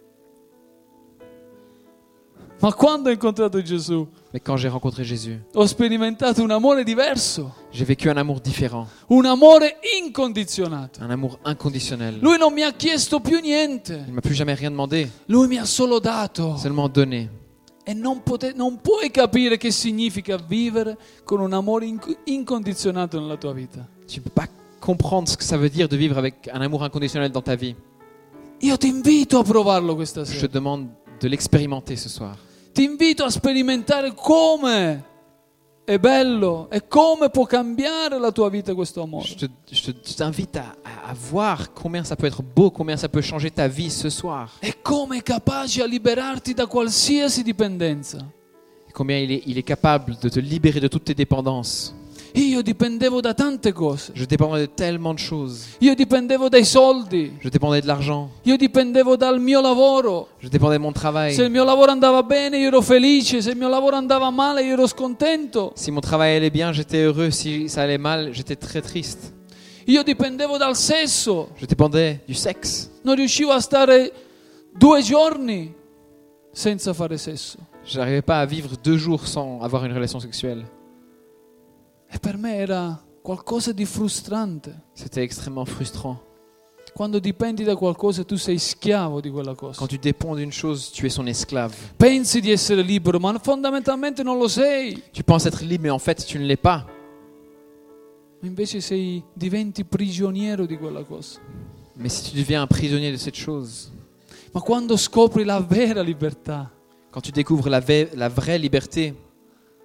Ma quando ho incontrato Gesù, Mais quand j'ai rencontré Jésus, ho sperimentato un amore diverso, j'ai vécu un amour différent, un amore incondizionato. un amour inconditionnel. Lui non mi ha chiesto più niente, Il m'a plus jamais rien demandé, lui mi ha solo dato. seulement donné. E non puoi capire che significa vivere con un amore incondizionato nella tua vita. Tu ne peux pas comprendre ce que ça veut dire de vivre avec un amour inconditionnel dans ta vie. Io ti invito a provarlo questa Je te sera. demande de l'expérimenter ce soir. Ti invito a sperimentare come è bello e come può cambiare la tua vita questo amore. Je t'invite à voir combien ça peut être beau, combien ça peut changer ta vie ce soir. E come è capace a liberarti da qualsiasi dipendenza. Et combien il est capable de te libérer de toutes tes dépendances. Io dipendevo da tante cose. Je dépendais de tellement de choses. Io dipendevo dai soldi. Je dépendais de l'argent. Io dipendevo dal mio lavoro. Je dépendais de mon travail. Se il mio lavoro andava bene, io ero felice. Se il mio lavoro andava male, io ero scontento. Si mon travail allait bien, j'étais heureux. Si ça allait mal, j'étais très triste. Io dipendevo dal sesso. Je dépendais du sexe. Non riuscivo a stare 2 giorni senza fare sesso. Je n'arrivais pas à vivre 2 jours sans avoir une relation sexuelle. E per me era qualcosa di frustrante. C'était extrêmement frustrant. Quando dipendi da qualcosa, tu sei schiavo di quella cosa. Quand tu dépends d'une chose, tu es son esclave. Pensi di essere libero, ma fondamentalmente non lo sei. Tu penses être libre, mais en fait, tu ne l'es pas. Invece diventi prigioniero di quella cosa. Mais si tu deviens un prisonnier de cette chose, Ma quando scopri la vera libertà, quand tu découvres la vraie liberté,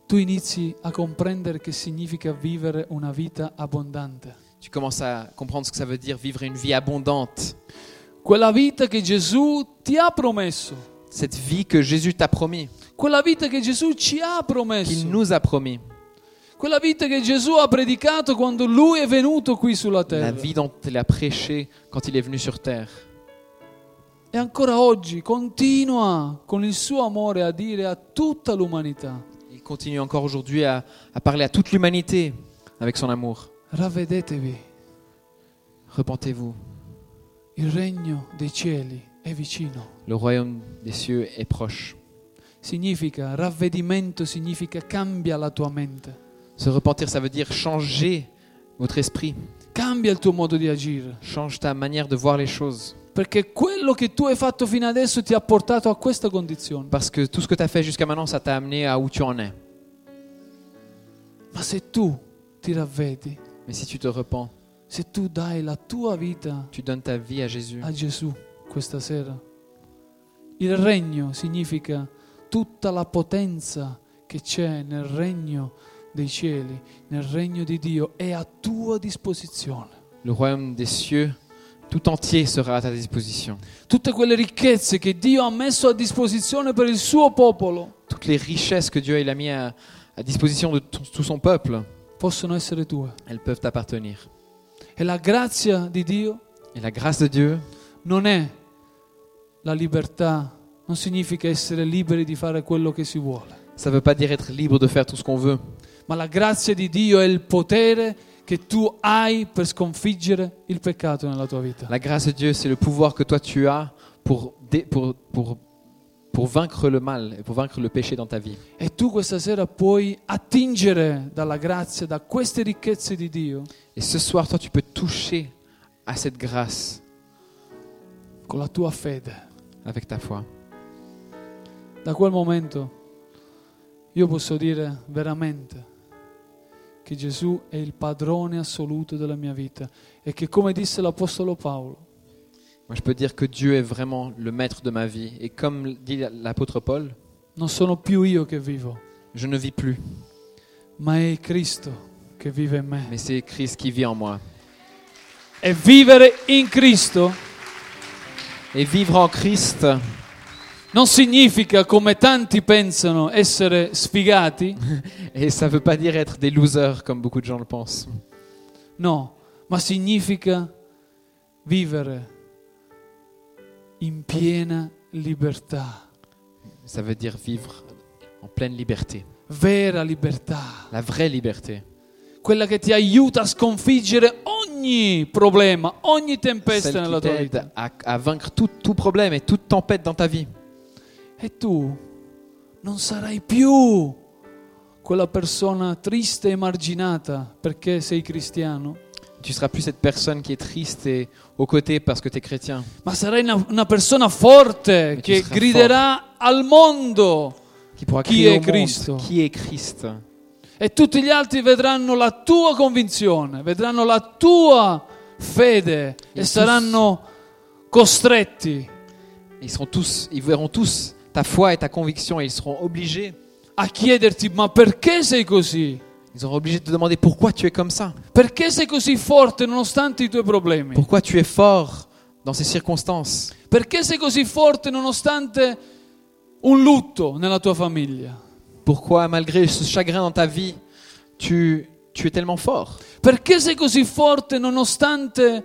tu inizi a comprendere che significa vivere una vita abbondante. Tu commences à comprendre ce que ça veut dire vivre une vie abondante. Quella vita che Gesù ti ha promesso. Cette vie que Jésus t'a promis, Quella vita che Gesù ci ha qu'il promesso. nous a promis. Quella vita che Gesù ha predicato quando Lui è venuto qui sulla La terra. vie dont il a prêché quand il est venu sur terre. E ancora oggi continua con il suo amore a dire a tutta l'umanità: Il continue encore aujourd'hui à parler à toute l'humanité avec son amour. ravvedetevi, Repentez-vous, il regno dei cieli è vicino. le royaume des cieux est proche. Significa, ravvedimento significa cambia la tua mente, Se repentir, ça veut dire changer votre esprit, cambia il tuo modo di agire, change ta manière de voir les choses. perché quello che tu hai fatto fino adesso ti ha portato a questa condizione. Parce que tout ce que tu as fait jusqu'à maintenant, ça t'a amené à où tu en es. Ma se tu ti ravvedi, Mais si tu te repens, se tu dai la tua vita tu donnes ta vie à Jésus. a Gesù questa sera, il regno significa tutta la potenza che c'è nel regno dei cieli, nel regno di Dio, è a tua disposizione. Le royaume des cieux tout entier sera à ta disposition. Tutte quelle ricchezze che Dio ha messo a disposizione per il suo popolo Toutes les richesses que Dieu il a mis à disposition de tout son peuple, possono essere tue. elles peuvent t'appartenir. E la grazia di Dio Et la grâce de Dieu, non è la libertà, non significa essere liberi di fare quello che si vuole, ça ne veut pas dire être libre de faire tout ce qu'on veut. ma la grazia di Dio è il potere che tu hai per sconfiggere il peccato nella tua vita. La grâce de Dieu, c'est le pouvoir que toi tu as pour vaincre le mal et pour vaincre le péché dans ta vie. E tu questa sera puoi attingere dalla grazia, da queste ricchezze di Dio, Et ce soir, toi, tu peux toucher à cette grâce con la tua fede. avec ta foi. Da quel momento io posso dire veramente che Gesù è il padrone assoluto della mia vita e che, come disse l'Apostolo Paolo, Moi, je peux dire que Dieu est vraiment le maître de ma vie. Et comme dit l'apôtre Paul, non sono più io che vivo, je ne vis plus, ma è Cristo che vive in me. mais c'est Christ qui vit en moi. E vivere in Cristo Et vivre en Christ, non significa, come tanti pensano, essere sfigati, et ça ne veut pas dire être des losers, comme beaucoup de gens le pensent. no, ma significa vivere in piena libertà, Ça veut dire vivre en pleine liberté. vera libertà, La vraie liberté. quella che ti aiuta a sconfiggere ogni problema, ogni tempesta Celle nella qui tua t'aide vita. à vaincre tout problème et toute tempête dans ta vie. E tu non sarai più quella persona triste e emarginata perché sei cristiano, Tu ne seras plus cette personne qui est triste et aux côtés parce que tu es chrétien. ma sarai una persona forte tu che seras griderà al mondo Qui pourra Qui crier est au monde Christ? qui est Christ. e tutti gli altri vedranno la tua convinzione, vedranno la tua fede e tous- saranno costretti Ils verront tous ta foi et ta conviction et ils seront obligés. a chiederti: ma perché sei così? Ils seront obligés de te demander pourquoi tu es comme ça. Perché sei così forte nonostante i tuoi problemi? Pourquoi tu es fort dans ces circonstances. Perché sei così forte nonostante un lutto nella tua famiglia? Pourquoi malgré ce chagrin dans ta vie, tu es tellement fort. Perché sei così forte nonostante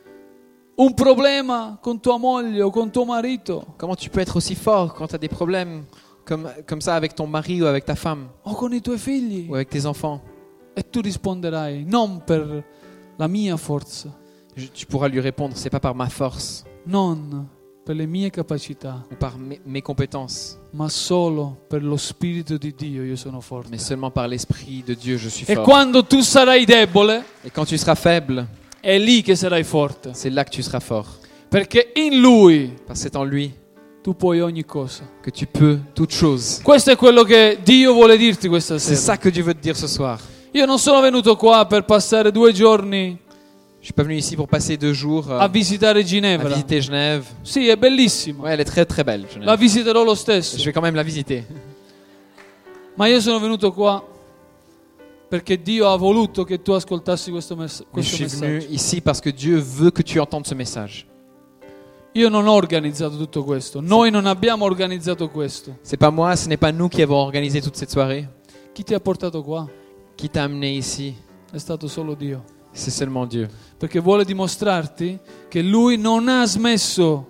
un problema con tua moglie o con tuo marito Comment tu peux être aussi fort quand tu as des problèmes comme ça avec ton mari ou avec ta femme o con i tuoi figli? ou avec tes enfants? E tu risponderai: non per la mia forza, Tu pourras lui répondre, c'est pas par ma force non per le mie capacità, ou par mes compétences, ma solo per lo Spirito di Dio io sono forte. mais seulement par l'Esprit de Dieu, je suis E fort. quando tu sarai debole, Et quand tu seras faible, è lì che sarai forte, c'est là que tu seras fort. perché in Lui Parce que c'est en lui tu puoi ogni cosa. que tu peux toutes choses. Questo è quello che Dio vuole dirti questa C'est sera. ça que Dieu veut te dire ce soir. Io non sono venuto qua per passare 2 giorni Je suis pas venu ici pour passer 2 jours a visitare à Ginevra. visiter Genève. Sì, è bellissimo. Ouais, elle est très très belle, Genève. La visiterò lo stesso. Je vais quand même la visiter. Ma io sono venuto qua perché Dio ha voluto che tu ascoltassi questo Mais je questo suis venu messaggio. ici parce que Dieu veut que tu entendes ce message. Io non ho organizzato tutto questo, noi non abbiamo organizzato questo. C'est pas moi, ce n'est pas nous qui avons organisé toute cette soirée. Chi ti ha portato qua Qui t'a amené ici? è stato solo Dio, C'est seulement Dieu. perché vuole dimostrarti che Lui non ha smesso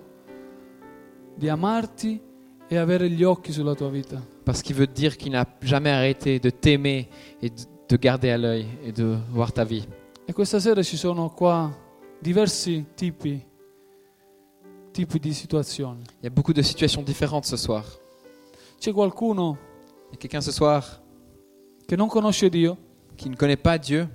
di amarti e avere gli occhi sulla tua vita. Parce qu'il veut te dire qu'il n'a jamais arrêté de t'aimer et de te garder à l'œil et de voir ta vie. E questa sera ci sono qua diversi tipi di situazioni. Il y a beaucoup de situations différentes ce soir. C'è qualcuno Il y a quelqu'un ce soir che non conosce Dio qui ne connaît pas Dieu.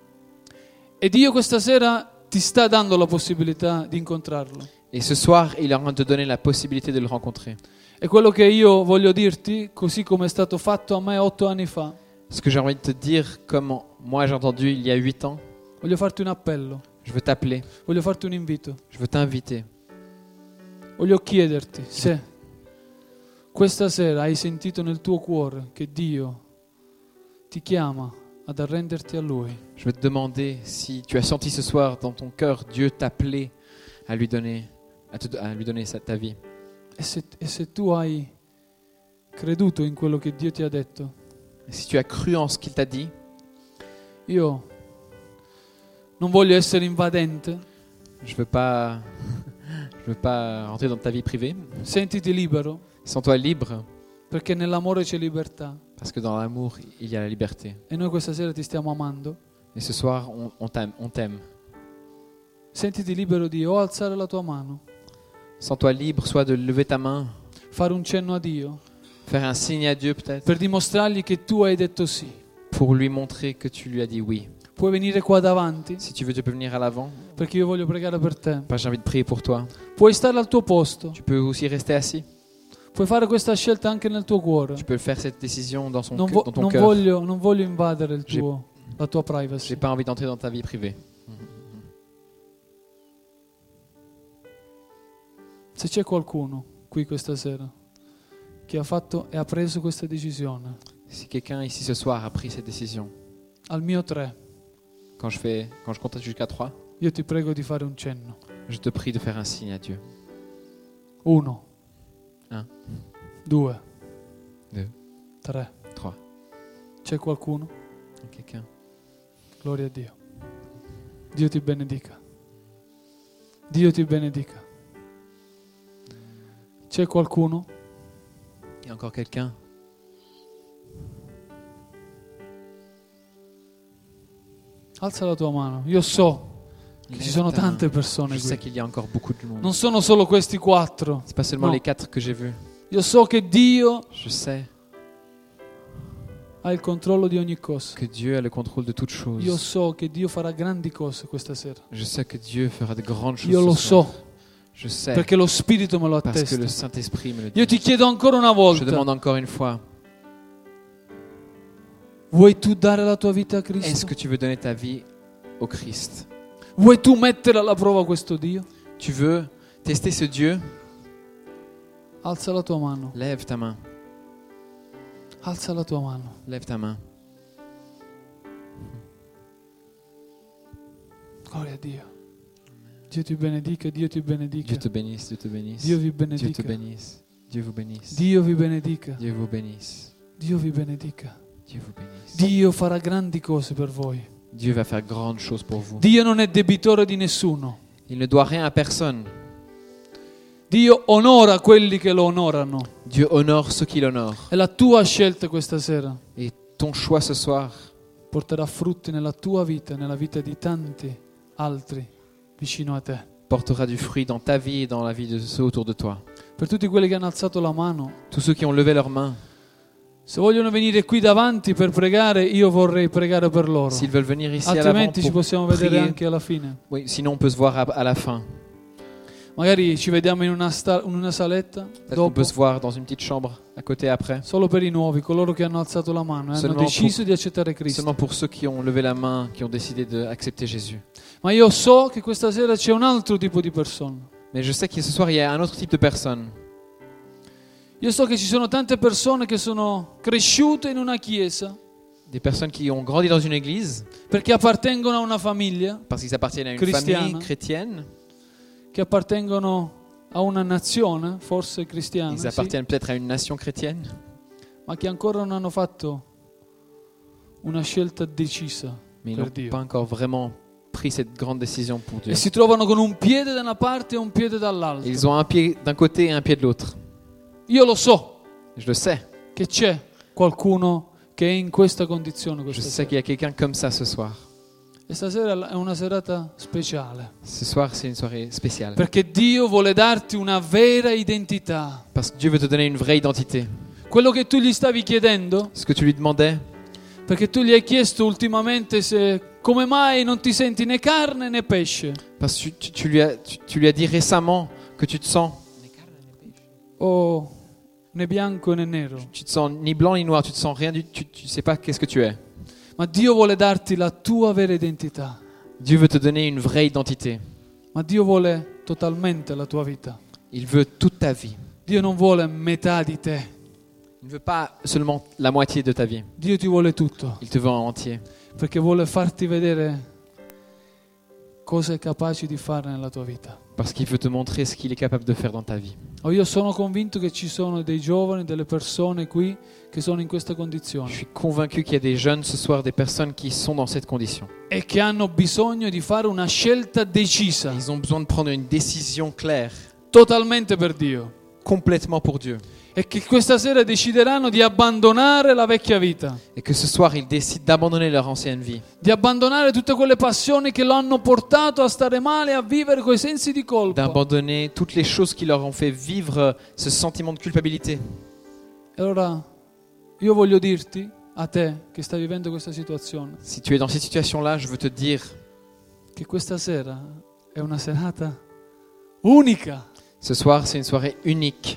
e Dio questa sera ti sta dando la possibilità di incontrarlo. Et ce soir, il est en train de te donner la possibilité de le rencontrer. E quello che io voglio dirti, così come è stato fatto a me 8 anni fa, Ce que j'ai envie de te dire, comme moi j'ai entendu il y a 8 ans, voglio farti un appello, je veux t'appeler, voglio farti un invito, je veux t'inviter. voglio chiederti se questa sera hai sentito nel tuo cuore che Dio ti chiama ad arrenderti a Lui. Je veux te demander si tu as senti ce soir dans ton cœur Dieu t'appeler à lui donner, à lui donner ta vie. E se tu hai creduto in quello che Dio ti ha detto, Et si tu as cru en ce qu'il t'a dit, io non voglio essere invadente, je veux pas rentrer dans ta vie privée. sentiti libero, Sens-toi libre, perché nell'amore c'è libertà parce que dans l'amour, il y a la liberté. e noi questa sera ti stiamo amando. Et ce soir, on t'aime. Sentiti libero di o alzare la tua mano, Sens-toi libre, soit de lever ta main, fare un cenno a Dio faire un signe à Dieu peut-être, per dimostrargli che tu hai detto sì. pour lui montrer que tu lui as dit oui. Puoi venire qua davanti Si tu veux, tu peux venir à l'avant. perché io voglio pregare per te. J'ai envie de prier pour toi. Puoi stare al tuo posto, Tu peux aussi rester assis. puoi fare questa scelta anche nel tuo cuore. Tu peux faire cette décision dans Non, dans ton non cœur. voglio invadere la tua privacy. J'ai pas envie d'entrer dans ta vie privée. Se c'è qualcuno qui questa sera che ha fatto e ha preso questa decisione, Si quelqu'un ici ce soir a pris cette décision, al mio 3, quand je compte jusqu'à 3, io ti prego di fare un cenno. je te prie de faire un signe à Dieu. 1, 1, 2, 2, 3. 3. C'è qualcuno? Quelqu'un? Gloria a Dio. Dio ti benedica. Dio ti benedica. C'è qualcuno? Il y a encore quelqu'un? Alza la tua mano. Io so che ci sono tante persone Je sais qui. qu'il y a encore beaucoup de monde. Non sono solo questi 4. C'est pas seulement No. les 4 que j'ai vus. Io so che Dio Je sais ha il controllo di ogni cosa. que Dieu a le contrôle de toutes choses. Io so che Dio farà grandi cose questa sera. Je sais que Dieu fera de grandes choses. Io lo ce soir. so, Je sais perché lo Spirito me lo parce que le attesta. Saint-Esprit me le Io dit. ti chiedo ancora una Je volta, demande encore une fois, vuoi tu dare la tua vita a est-ce Cristo? que tu veux donner ta vie au Christ? Vuoi tu mettere alla prova questo Dio? Tu veux tester ce Dieu? Alza la tua mano, Lève ta main. alza la tua mano. Lève ta main. Gloria a Dio. Dio ti benedica, Dio ti benedica. Dieu te bénisse, Dieu te bénisse. Dio vi Dieu te benedica. bénisse. Dieu vous bénisse. Dio vi benedica. Dieu vous bénisse. Dio vi benedica. Dieu vous bénisse. Dio farà grandi cose per voi. Dieu va faire grandes choses pour vous. Dio non è debitore di nessuno. Il ne doit rien à personne. Dio onora quelli che lo onorano. Dieu honore ceux qui l'honorent. È la tua scelta questa sera. Et ton choix ce soir Porterà frutti nella tua vita, nella vita di tanti altri vicino a te. portera du fruit dans ta vie et dans la vie de ceux autour de toi. Per tutti quelli che hanno alzato la mano, Tous ceux qui ont levé leurs mains, se vogliono venire qui davanti per pregare, io vorrei pregare per loro. s'ils veulent venir ici à l'avant Altrimenti ci pour possiamo vedere prier. anche alla fine. Oui, sinon on peut se voir à la fin. Magari ci vediamo in una saletta Peut-être qu'on dopo, peut se voir dans une petite chambre à côté après. solo per i nuovi, coloro che hanno alzato la mano e hanno Seulement deciso di accettare Cristo. Seulement pour ceux qui ont levé la main, qui ont décidé d'accepter Jésus. Ma io so che questa sera c'è un altro tipo di persona. Mais je sais que ce soir, il y a un autre type de personne. Io so che ci sono tante persone che sono cresciute in una chiesa Des personnes qui ont grandi dans une église perché appartengono a una famiglia, parce qu'ils appartiennent à une Cristiana. famille chrétienne. che appartengono a una nazione, forse cristiana, Ils sì, appartiennent peut-être à une nation chrétienne, ma che ancora non hanno fatto una scelta decisa mais ils per n'ont Dio. pas encore vraiment pris cette grande décision pour Dieu. E si trovano con un piede da una parte e un piede dall'altra. Ils ont un pied d'un côté et un pied de l'autre. Io lo so Je le sais. che c'è qualcuno che è in questa condizione Je questa sais sera. qu'il y a quelqu'un comme ça ce soir. E stasera è una serata speciale, Ce soir, c'est une soirée spéciale. perché Dio vuole darti una vera identità. Parce que Dieu veut te donner une vraie identité. Quello che tu gli stavi chiedendo, Ce que tu lui demandais, perché tu gli hai chiesto ultimamente se come mai non ti senti né carne né pesce, parce que tu lui as dit récemment que tu te sens, o né bianco né nero. tu te sens ni blanc ni noir, tu te sens rien tu sais pas qu'est-ce que tu es. Ma Dio vuole darti la tua vera identità. Dieu veut te donner une vraie identité. Ma Dio vuole totalmente la tua vita. Il veut toute ta vie. Dio non vuole metà di te. Il ne veut pas seulement la moitié de ta vie. Dio ti vuole tutto, Il te veut en entier. perché vuole farti vedere cosa è capace di fare nella tua vita. Parce qu'il veut te montrer ce qu'il est capable de faire dans ta vie. Io sono convinto che ci sono dei giovani, delle persone qui che sono in questa Je condizione suis convaincu qu'il y a des jeunes ce soir, des personnes qui sont dans cette condition. e che hanno bisogno di fare una scelta decisa, Ils ont besoin de prendre une décision claire, totalmente per Dio, complètement pour Dieu. e che questa sera decideranno di abbandonare la vecchia vita, Et que ce soir, ils décident d'abandonner leur ancienne vie. di abbandonare tutte quelle passioni che lo hanno portato a stare male, a vivere coi sensi di colpa. D'abandonner toutes les choses qui leur ont fait vivre ce sentiment de culpabilité. E allora io voglio dirti, a te che stai vivendo questa situazione, Si tu es dans cette situation-là, je veux te dire, che questa sera è una serata unica ce soir, c'est une soirée unique.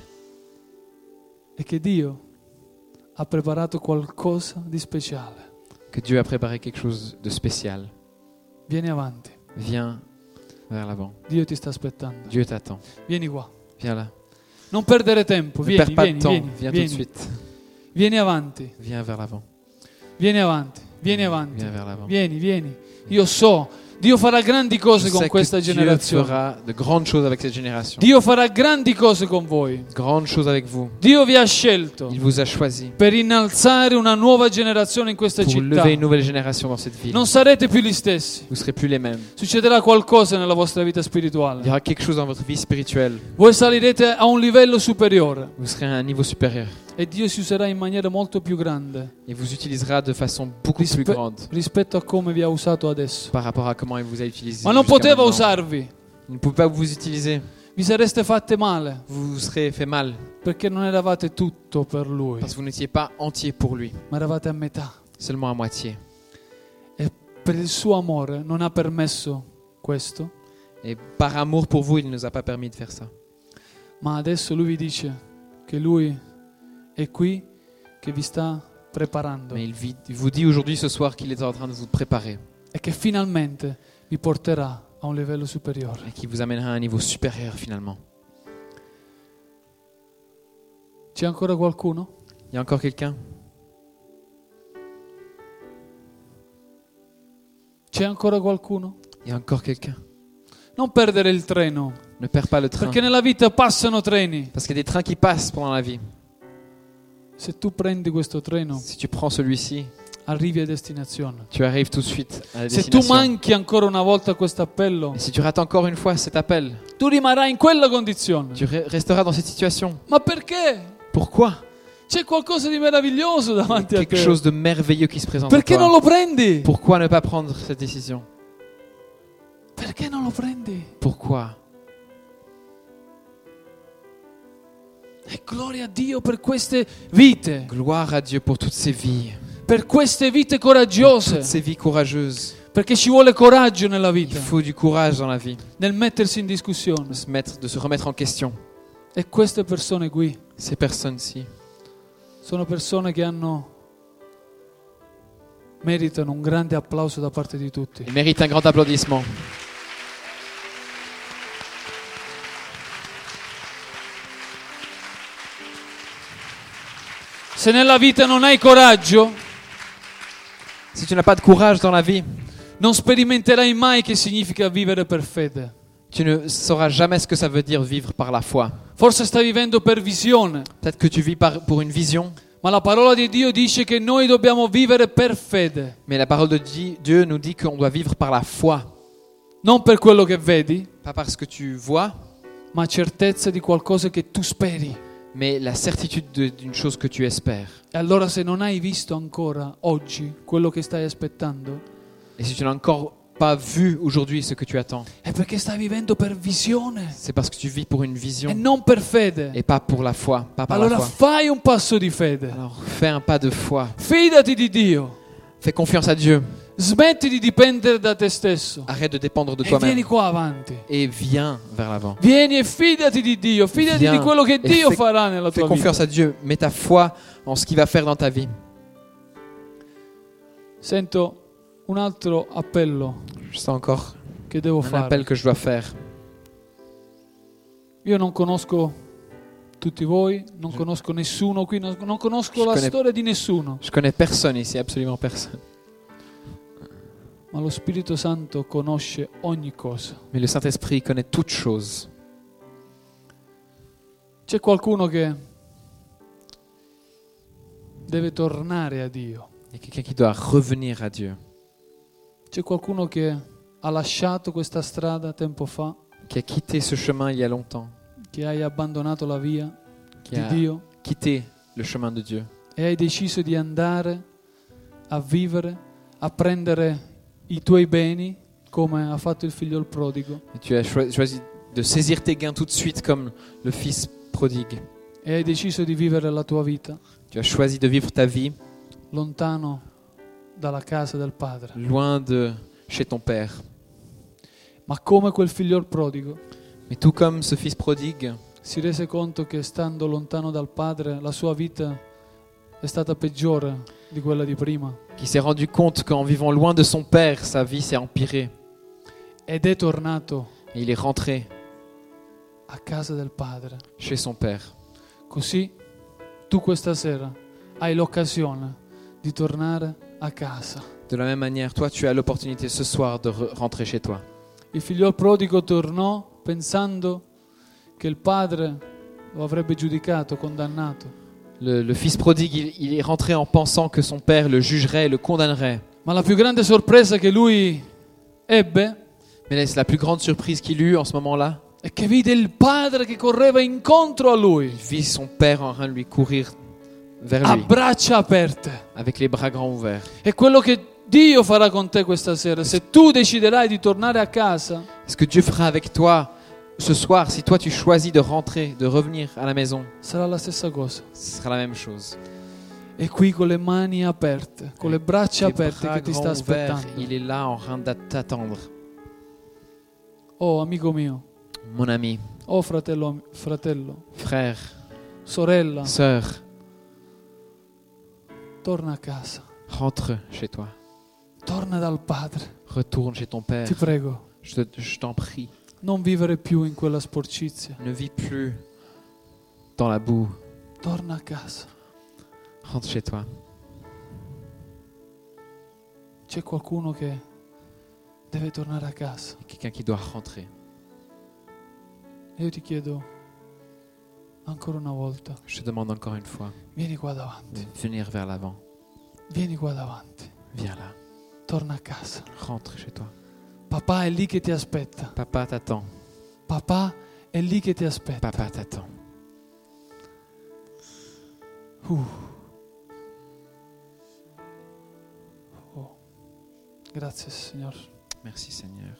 e che Dio ha preparato qualcosa di speciale. Que Dieu a préparé quelque chose de spécial. Vieni avanti, Viens vers l'avant. Dio ti sta aspettando. Dieu t'attend. Vieni qua. Viens là. Non perdere tempo, Ne vieni, perds pas vieni, de temps. vieni, Viens vieni. tout de suite. Vieni avanti, Viens vers l'avant. vieni avanti, vieni avanti. Viens vers l'avant. Vieni, vieni. Io so, Dio farà grandi cose Je con sais questa que Dieu generazione. fera de grandes choses avec cette génération. Dio farà grandi cose con voi. Grandes choses avec vous. Dio vi ha scelto Il vous a choisi per innalzare una nuova generazione in questa pour città. lever une nouvelle génération dans cette ville. Non sarete più gli stessi. Vous ne serez plus les mêmes. Succederà qualcosa nella vostra vita Il y spirituale. aura quelque chose dans votre vie spirituelle. Voi salirete a un livello superiore Vous serez à un niveau supérieur. e Dio si userà in maniera molto più grande Et vous utilisera de façon beaucoup plus grande rispetto a come vi ha usato adesso. par rapport à comment il vous a utilisé. Ma non jusqu'à poteva maintenant. usarvi. Il ne pouvait pas vous utiliser. Vi sareste fatte male Vous vous serez fait mal perché non eravate tutto per Lui, parce que vous n'étiez pas entier pour lui, ma eravate a metà. seulement à moitié. E per il suo amore non ha permesso questo, Et par amour pour vous, il ne nous a pas permis de faire ça. ma adesso Lui vi dice che Lui è qui, che vi sta preparando Mais il vous dit aujourd'hui, ce soir, qu'il est en train de vous préparer e che finalmente vi porterà a un livello superiore. et qu'il vous amènera à un niveau supérieur finalement. C'è ancora qualcuno? Il y a encore quelqu'un? C'è ancora qualcuno? Il y a encore quelqu'un? Non perdere il treno, Ne perds pas le train. perché nella vita passano treni. Parce qu'il y a des trains qui passent pendant la vie. Se tu prendi questo treno, Si tu prends celui-ci, arrivi a destinazione. tu arrives tout de suite à la Se tu destination. manchi ancora una volta questo appello, Et si tu rates encore une fois cet appel, tu rimarrai in quella condizione. tu resteras dans cette situation. Ma perché? Pourquoi? C'è qualcosa di meraviglioso davanti a Quelque te. chose de merveilleux qui se présente à Perché non toi. lo prendi? Pourquoi ne pas prendre cette décision? Perché non lo prendi? Pourquoi? E gloria a Dio per queste vite, Gloire à Dieu pour toutes ces vies, per queste vite toutes coraggiose, ces vies courageuses. perché ci vuole coraggio nella Il vita, faut du courage dans la vie, nel mettersi in discussione. de se remettre en question. E queste persone qui Ces personnes-ci sono persone che meritano un grande applauso da parte di tutti. ils méritent un grand applaudissement. se nella vita non hai coraggio, si tu n'as pas de courage dans la vie, non sperimenterai mai che significa vivere per fede. tu ne sauras jamais ce que ça veut dire vivre par la foi. Forse stai vivendo per visione, Peut-être que tu vis pour une vision, ma la parola di Dio dice che noi dobbiamo vivere per fede, mais la parole de Dieu nous dit qu'on doit vivre par la foi. non per quello che vedi, Pas parce que tu vois, ma certezza di qualcosa che tu speri. mais la certitude d'une chose que tu espères. E allora se non hai visto ancora oggi quello che stai aspettando, Et si tu n'as encore pas vu aujourd'hui ce que tu attends, è perché stai vivendo per visione c'est parce que tu vis pour une e vision non per fede. et pas pour la foi, pas par Allora la foi. fai un passo di fede. Alors fais un pas de foi, Fidati di Dio. fais confiance à Dieu, Smetti di dipendere da te stesso arrête de dépendre de e vieni toi-même qua avanti. et viens vers l'avant. Vieni e fidati di Dio, fidati Viens di quello che e Dio fai- farà nella Fais tua vita. confiance à Dieu, mets ta foi en ce qu'il va faire dans ta vie. Sento un altro appello Je sens encore che devo un fare. appel que je dois faire. Io non conosco tutti voi, non conosco nessuno qui, non conosco la connais- storia di nessuno, Je connais personne ici, absolument personne. ma lo Spirito Santo conosce ogni cosa. Mais le Saint-Esprit connaît toutes choses. C'è qualcuno che deve tornare a Dio. Il y a quelqu'un qui doit revenir à Dieu, C'è qualcuno che ha lasciato questa strada tempo fa, qui a quitté ce chemin il y a longtemps, che hai abbandonato la via qui di a Dio quitté le chemin de Dieu e hai deciso di andare a vivere, a prendere i tuoi beni come ha fatto il figlio il prodigo et tu as choisi de saisir tes gains tout de suite comme le fils prodigue. e hai deciso di vivere la tua vita Tu as choisi de vivre ta vie lontano dalla casa del Padre. loin de chez ton père. Ma come quel figlio il prodigo Mais tout comme ce fils prodigue, si rese conto che stando lontano dal Padre la sua vita è stata peggiore di quella di prima qui s'est rendu compte qu'en vivant loin de son père, sa vie s'est empirée. ed è tornato Et il est rentré a casa del Padre. chez son père. Così tu questa sera hai l'occasione di tornare a casa. De la même manière, toi, tu as l'opportunité ce soir de rentrer chez toi. Il figlio prodigo tornò pensando che il padre lo avrebbe giudicato, condannato. Le fils prodigue, il est rentré en pensant que son père le jugerait, le condamnerait. Ma la più grande sorpresa che lui ebbe Mais là, c'est la plus grande surprise qu'il eut en ce moment-là. è che vide il padre che correva incontro a lui, Il vit son père en train de lui courir vers a lui, braccia aperte. avec les bras grands ouverts. È quello che Dio farà con te questa sera. Se tu deciderai di tornare a casa, Ce que Dieu fera avec toi ce soir, si toi tu choisis de rentrer, de revenir à la maison, sarà la stessa cosa. ce sera la même chose. È qui con le mani aperte, con le braccia Les aperte bras che ti sta grands ouverts, aspettando. il est là en train de t'attendre. Oh, amico mio, Mon ami, oh fratello, frère, sorella, sœur, torna a casa, rentre chez toi. torna dal Padre, Retourne chez ton père. ti prego, Je t'en prie. non vivere più in quella sporcizia, Ne vis plus dans la boue. torna a casa. Rentre chez toi. C'è qualcuno che deve tornare a casa. Il y a quelqu'un qui doit rentrer. E io ti chiedo ancora una volta, Je te demande encore une fois vieni qua davanti, de venir vers l'avant. vieni qua davanti, Viens là. torna a casa. Rentre chez toi. Papà è lì che ti aspetta, Papa t'attend. papà è lì che ti aspetta. Papa t'attend. Oh. Grazie Signore. Merci Seigneur.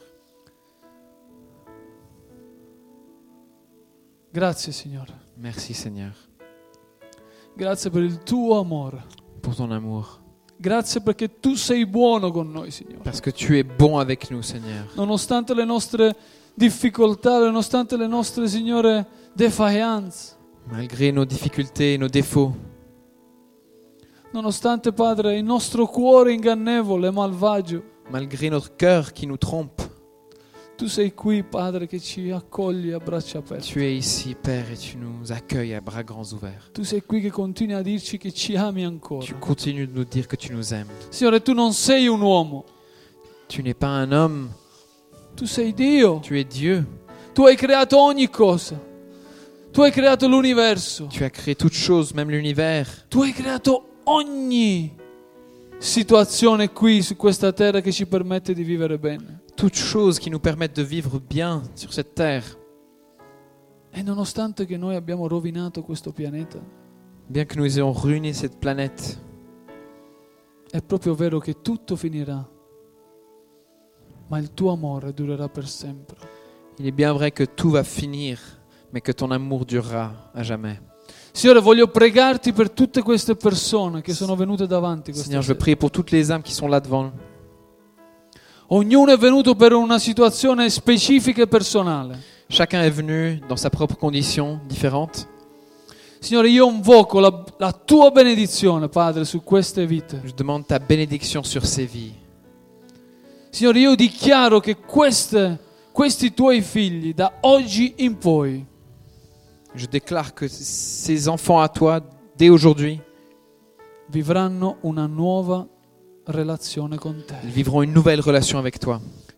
Grazie Signore. Merci Seigneur Grazie per il tuo amore. pour ton amour. Grazie perché tu sei buono con noi, Signore. Parce que tu es bon avec nous, Seigneur. Nonostante le nostre difficoltà, nonostante le nostre, Signore, defiance, Malgré nos difficultés et nos défauts, nonostante, Padre, il nostro cuore ingannevole e malvagio, malgré notre cœur qui nous trompe, Tu sei qui, Padre, che ci accogli a braccia aperte. Tu es ici, Père, et tu nous accueilles à bras grands ouverts. Tu sei qui che continui a dirci che ci ami ancora. Tu continues de nous dire que tu nous aimes. Signore, tu non sei un uomo, Tu n'es pas un homme, tu sei Dio. tu es Dieu. Tu hai creato ogni cosa. Tu hai creato l'universo. Tu as créé toutes choses, même l'univers. Tu hai creato ogni situazione qui su questa terra che ci permette di vivere bene. Toutes choses qui nous permettent de vivre bien sur cette terre. E nonostante che noi abbiamo rovinato questo pianeta, Bien que nous ayons ruiné cette planète, è proprio vero che tutto finirà, ma il tuo amore durerà per sempre. il est bien vrai que tout va finir, mais que ton amour durera à jamais. Signore, voglio pregarti per tutte queste persone che sono venute davanti questa Seigneur, je veux sera. prier pour toutes les âmes qui sont là devant. Ognuno è venuto per una situazione specifica e personale. Chacun est venu dans sa propre condition différente. Signore, io invoco la tua benedizione, Padre, su queste vite. Je demande ta bénédiction sur ces vies. Signore, io dichiaro che questi tuoi figli, da oggi in poi, Je déclare que ces enfants à toi, dès aujourd'hui, vivranno una nuova relazione con te. ils vivront une nouvelle relation avec toi.